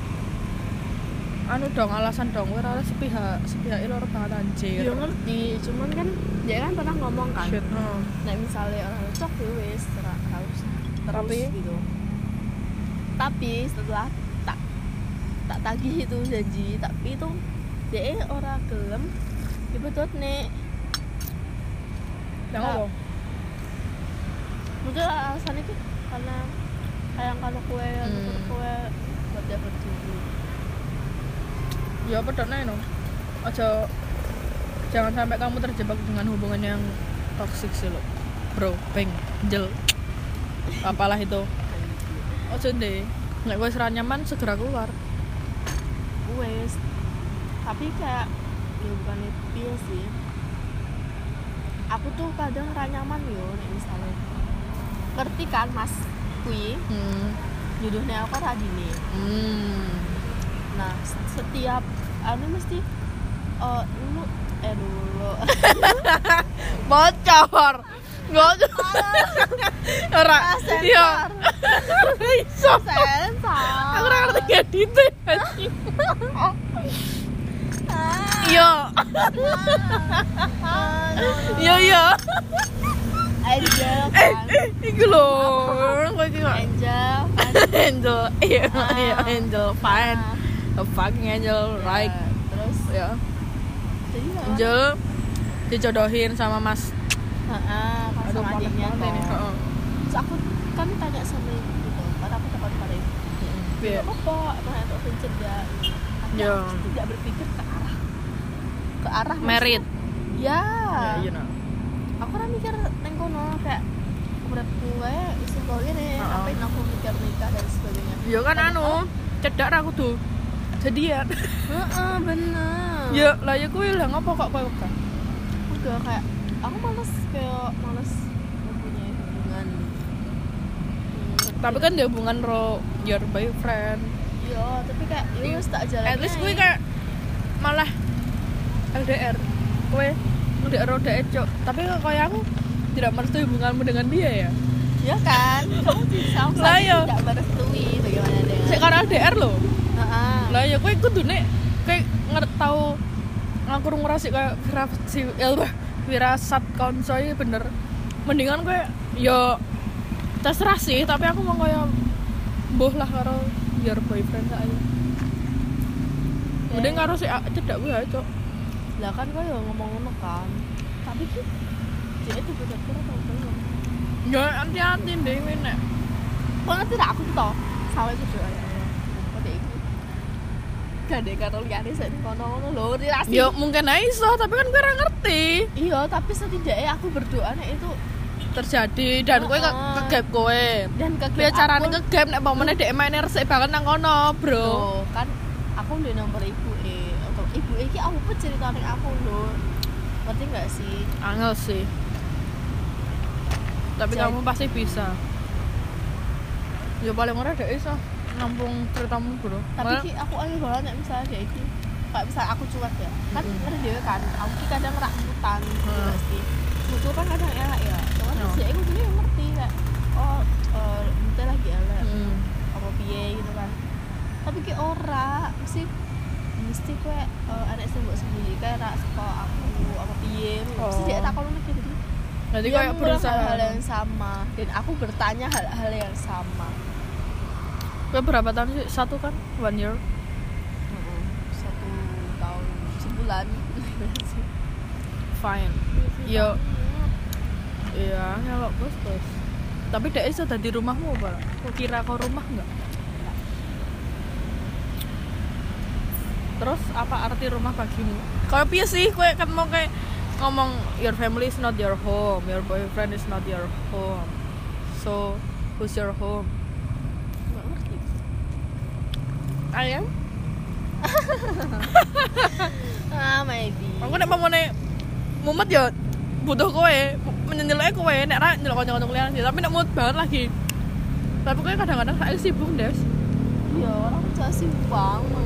alasan dong, ora sepihak loro banget anjir. Ya ngerti, cuman kan dia kan pernah ngomong kan. Nah, misalnya orang cocok ya wis harus terus gitu. Tapi setelah tak tagih itu janji, tapi itu dia ora gelem dibetut nek. Yang apa? Mungkin alasan itu karena sayang kalau kue buat dapat jodoh. Ya pedot nae no. Jangan sampai kamu terjebak dengan hubungan yang toksik sih lo. Bro, jel. Apalah itu. Ojo ndek. Nek wis ra nyaman segera keluar. Wes. Tapi kayak ya bukan itu sih. Aku tuh kadang ra nyaman yo nek misalnya. Ngerti kan Mas kuwi? Jodohnya aku Radini. Nah, setiap mesti dulu bocor. Ora. Iya. Iso. Aku ora ngerti edit. Yo. Yo. Angel kan. Iku lho. Kowe iki kok. Angel. Iya, Angel fine. A fucking angel, right? Terus Ya. jadi Angel dijodohin sama Mas. pas Aduh, sama adiknya panas banget ini. toh. Terus aku kan tanya sama ibu gitu, karena aku takut pada ibu. Iya. Apa? Emang itu pencet ya? Ya. Tidak berpikir ke arah Merit. Ya. Ya, you know. Aku kan mikir neng kono kayak uripku wae isin kok ngene, ngapain aku mikir nikah dan sebagainya. Ya kan anu, cedak ra kudu jadian. Heeh, bener. Ya, lah ya kuwi lah ngopo kok kowe kan. Udah kayak aku males mempunyai hubungan. Tapi kan dia hubungan your boyfriend. Iya, tapi kayak ya wis tak jalan. At least kuwi kayak malah LDR. Kowe LDR udah cok. Tapi kayak aku tidak merestui hubunganmu dengan dia ya. Iya kan? Kamu bisa Lah, iya. tidak merestui bagaimana dengan. Sik karo LDR lho. Heeh. Lah ya kowe kudune kayak tau ngaku ngrasik kayak firasat konco iki bener. Mendingan kowe yo terserah sih, tapi aku mau kayak mbuh lah karo your boyfriend aja. Mending karo si cedak kuwi ae, Cok. Lah kan kau ya ngomong ngono kan. Tapi ki dia itu bener-bener tau belum. Ya hati-hati dhewe nek. Kau ngerti tak aku tuh toh sampai berdoa ya Allah. Kode iki. Gade karo liyane sik kono-kono lho relasi. Ya mungkin aja iso, tapi kan gue ora ngerti Iya, tapi setidaknya aku berdoa nek itu terjadi dan kowe kegap kowe. dan Piye carane kegap nek pamane dhek main resik banget nang kono, Bro. Loh, kan aku ndek nomor ibu untuk ibu iki aku pun ceritane aku lho. Ngerti enggak sih? Angel sih. Tapi Jadi- kamu pasti bisa. Ya paling ora dhek iso nampung ceritamu, Bro. Tapi ki aku aneh banget nek misalnya dia iki kayak misal aku cuek ya. Kan ngerti dhewe kan, aku ki kadang rak mutan gitu nggak sih. Butuh kan kadang elak ya. Cuman Oh. dia aku dulu ngerti kayak bentar lagi elak. Apa piye gitu kan. Tapi ki ora mesti kowe anak sing mbok sembunyi kae rak saka aku apa piye. Mesti dia tak kono gitu. Jadi Dia kayak mengulang berusaha. hal yang sama dan aku bertanya hal-hal yang sama. Kowe berapa tahun sih? 1 kan? 1 year. 1 tahun sebulan. Fine. Yo. Iya, ngelok bos. Tapi dhek iso dadi rumahmu apa? Kok kira kau rumah enggak? Terus apa arti rumah bagimu? Kayak piye sih kowe kan mau kayak ngomong your family is not your home, your boyfriend is not your home. So, who's your home? Nggak ngerti. Ayam? Maybe. Aku nek pamane mumet ya butuh kowe, menyenyeloke kowe nek ra nyelok kanca-kanca kuliah sih, tapi nek mood banget lagi. Tapi kowe kadang-kadang saya sibuk, Des. Iya, orang tuh sibuk banget.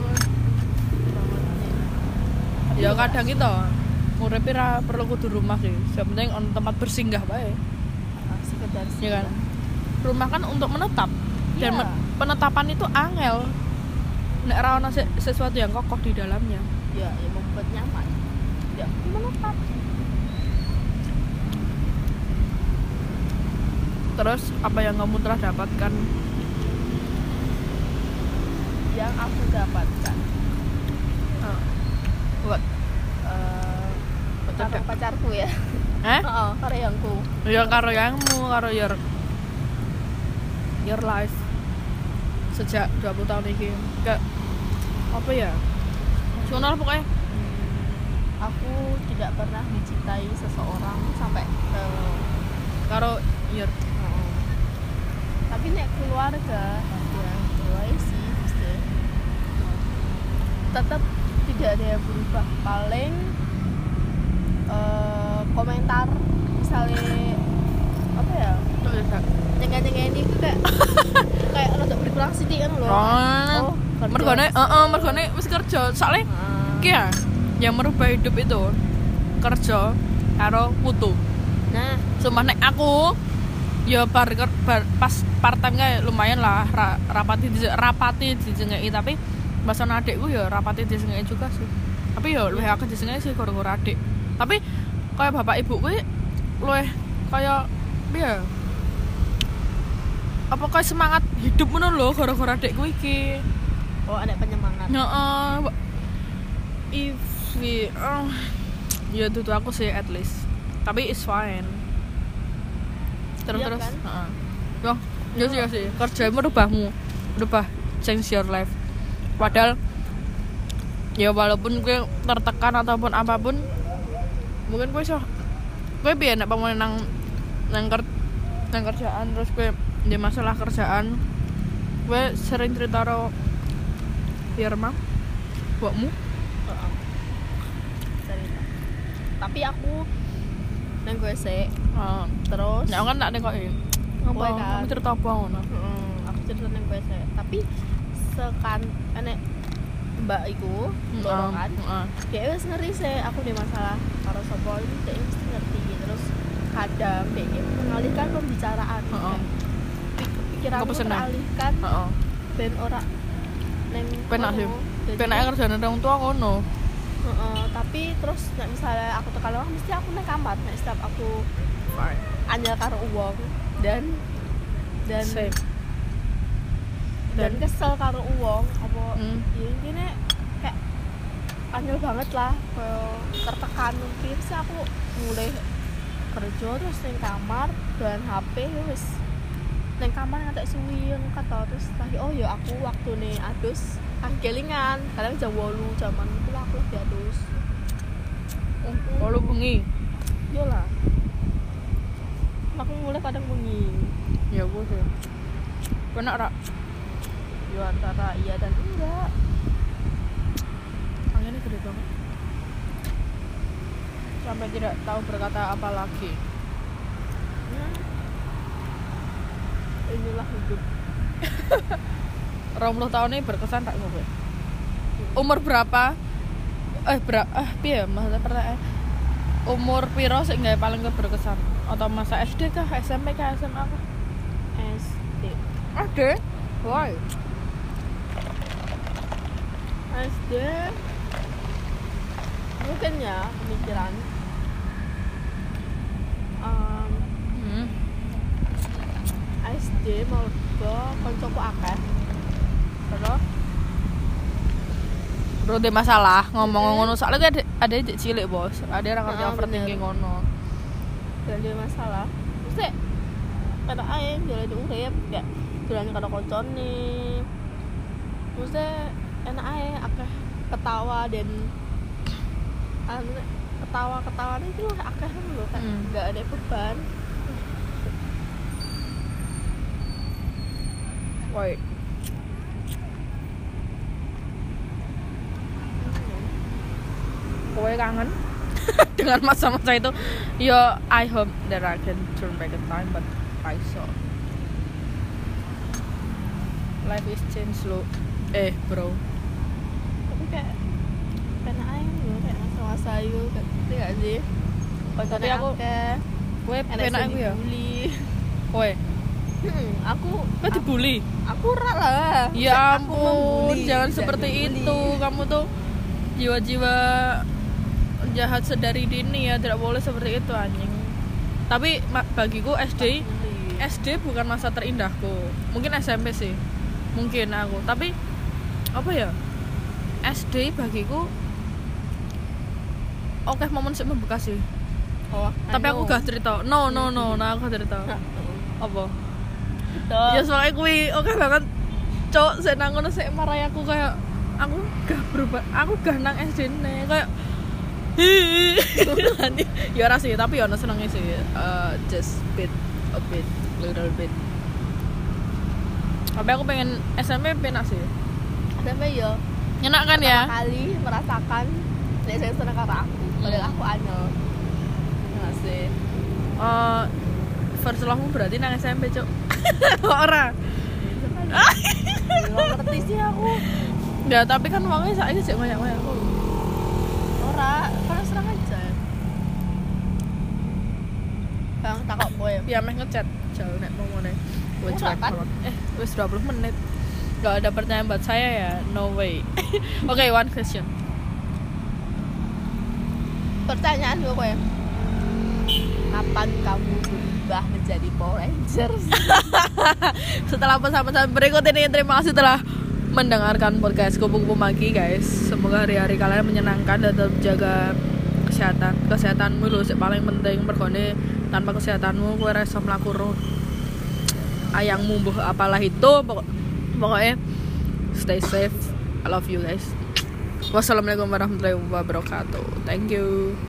Ya kadang gitu. Uripe ra perlu kudu rumah sih. Yang penting on tempat bersinggah bae. Sekedar Ya kan? Rumah kan untuk menetap. Dan Iya. penetapan itu angel. Nek ra ono sesuatu yang kokoh di dalamnya. Ya, yang membuat nyaman. Ya, menetap. Terus apa yang kamu telah dapatkan? Yang aku dapatkan Buat karo pacarku ya. Heeh, karo yangku. Ya karo yangmu, karo your life sejak 20 tahun ini. Kayak apa ya? Nasional pokoknya. Aku tidak pernah mencintai seseorang sampai Karo your tapi nek keluarga ya mulai sih mesti tetap tidak ada yang berubah, paling komentar misalnya apa ya nyengah-nyengah ini kayak kayak rada berkurang sedikit kan loh. mergone wis kerja soalnya ki ya yang merubah hidup itu kerja karo mutu. Nah, Sumpah nek aku ya pas part time kayak lumayan lah rapati dijengeki, tapi Bahasan adikku ya rapati disengke juga sih. Tapi ya luwih akeh disengke sih gara-gara adik. Tapi kayak bapak ibu kuwi luwih kayak piye? Apa kayak semangat hidup ngono lho gara-gara adikku iki. Oh, ada penyemangat. Heeh. Ya itu aku sih at least. Tapi it's fine. Terus Iya terus. kan? Heeh. Ya sih. Kerjamu rubah change your life. Padahal ya walaupun gue tertekan ataupun apapun, mungkin gue piye nek pamane nang kerjaan terus gue di masalah kerjaan gue sering cerita karo Firma buatmu. Cerita. Tapi aku nang gue sih terus Ya kan tak nekoki. Kowe kan? Kamu cerita apa ngono? Aku cerita nang gue sih. Tapi enek mbak iku loro kan. Dia wis ngerti sih aku di masalah karo sapa iki dia mesti ngerti. Terus kadang dia mengalihkan pembicaraan. Pikiranku teralihkan. Ben ora neng Penak sih. Penake kerjane wong tua ngono. Tapi terus nek misalnya aku tekan orang mesti aku nang kamar nek setiap aku anyel karo uang dan Same. dan kesel karo uang apa ya intinya kayak anyel banget lah kayak tertekan mungkin sih aku mulai kerja terus nang kamar dan HP wis nang kamar ngantek suwi kata terus lagi oh ya aku waktu nih adus kelingan kadang jam 8 jaman itu aku lagi adus Kalau bengi. yo lah aku mulai kadang bengi Ya gue sih. Kena rak. yo antara iya dan enggak Anginnya gede banget. Sampai tidak tahu berkata apa lagi. Inilah hidup. 20 tahun ini berkesan tak gue? Umur berapa? Piye maksudnya pertanyaan. Umur piro sing gawe paling berkesan? Atau masa SD kah, SMP kah, SMA kah? SD. SD? Why? SD mungkin ya pemikiran SD mau ke koncoku akeh terus Bro, ada masalah ngomong ngono soalnya ada adik cilik bos, ada orang ngerti overthinking ngono. dan dia masalah terus kata ae jalan urip kayak jalan karo koncone terus enak ae akeh ketawa dan ketawa itu akeh lho kan enggak ada beban. Wait. Kowe kangen dengan masa-masa itu? Ya, I hope that I can turn back the time, but I saw life is change lo. Bro. Tapi kayak enak ae lho kayak masa-masa itu ngerti gak sih? Tapi aku kowe penak aku ya. Kowe aku dibully. Aku ora lah. Ya ampun, jangan seperti itu. Kamu tuh jiwa-jiwa jahat sedari dini ya, tidak boleh seperti itu anjing. Tapi bagiku SD bukan masa terindahku. Mungkin SMP sih. Mungkin aku. Tapi apa ya? SD bagiku oke momen sih membekas sih. Tapi aku gak cerita. No, aku gak cerita. Apa? Ya soalnya kuwi oke banget. Cok, saya nang ngono sik marai aku kayak aku gak berubah. Aku gak nang SD ne kayak ya ora sih, tapi ya ono senenge sih. Just little bit. Tapi aku pengen SMP penak sih. SMP ya. Enak kan ya? Kali merasakan nek saya seneng karo aku. Padahal aku anyel. Enggak sih. First love-mu berarti nang SMP, Cuk. Ora. Enggak ngerti sih aku. Ya, tapi kan wongnya saiki sik banyak-banyak aku. Ora, kan serang aja. Bang takok kowe. Ya meh ngechat jauh nek ngomongane. Wis Ora, kan? wis 20 menit. Gak ada pertanyaan buat saya ya, no way. Oke, one question. Pertanyaan gue ya, kapan kamu berubah menjadi Power Rangers? Setelah pesan-pesan berikut ini, terima kasih telah mendengarkan podcast Kupu-Kupu Magi guys. Semoga hari-hari kalian menyenangkan dan tetap jaga kesehatanmu lho sing paling penting. Mergone tanpa kesehatanmu kowe ora iso mlaku ayangmu mbuh apalah itu, pokoknya stay safe. I love you guys. Wassalamualaikum warahmatullahi wabarakatuh. Thank you.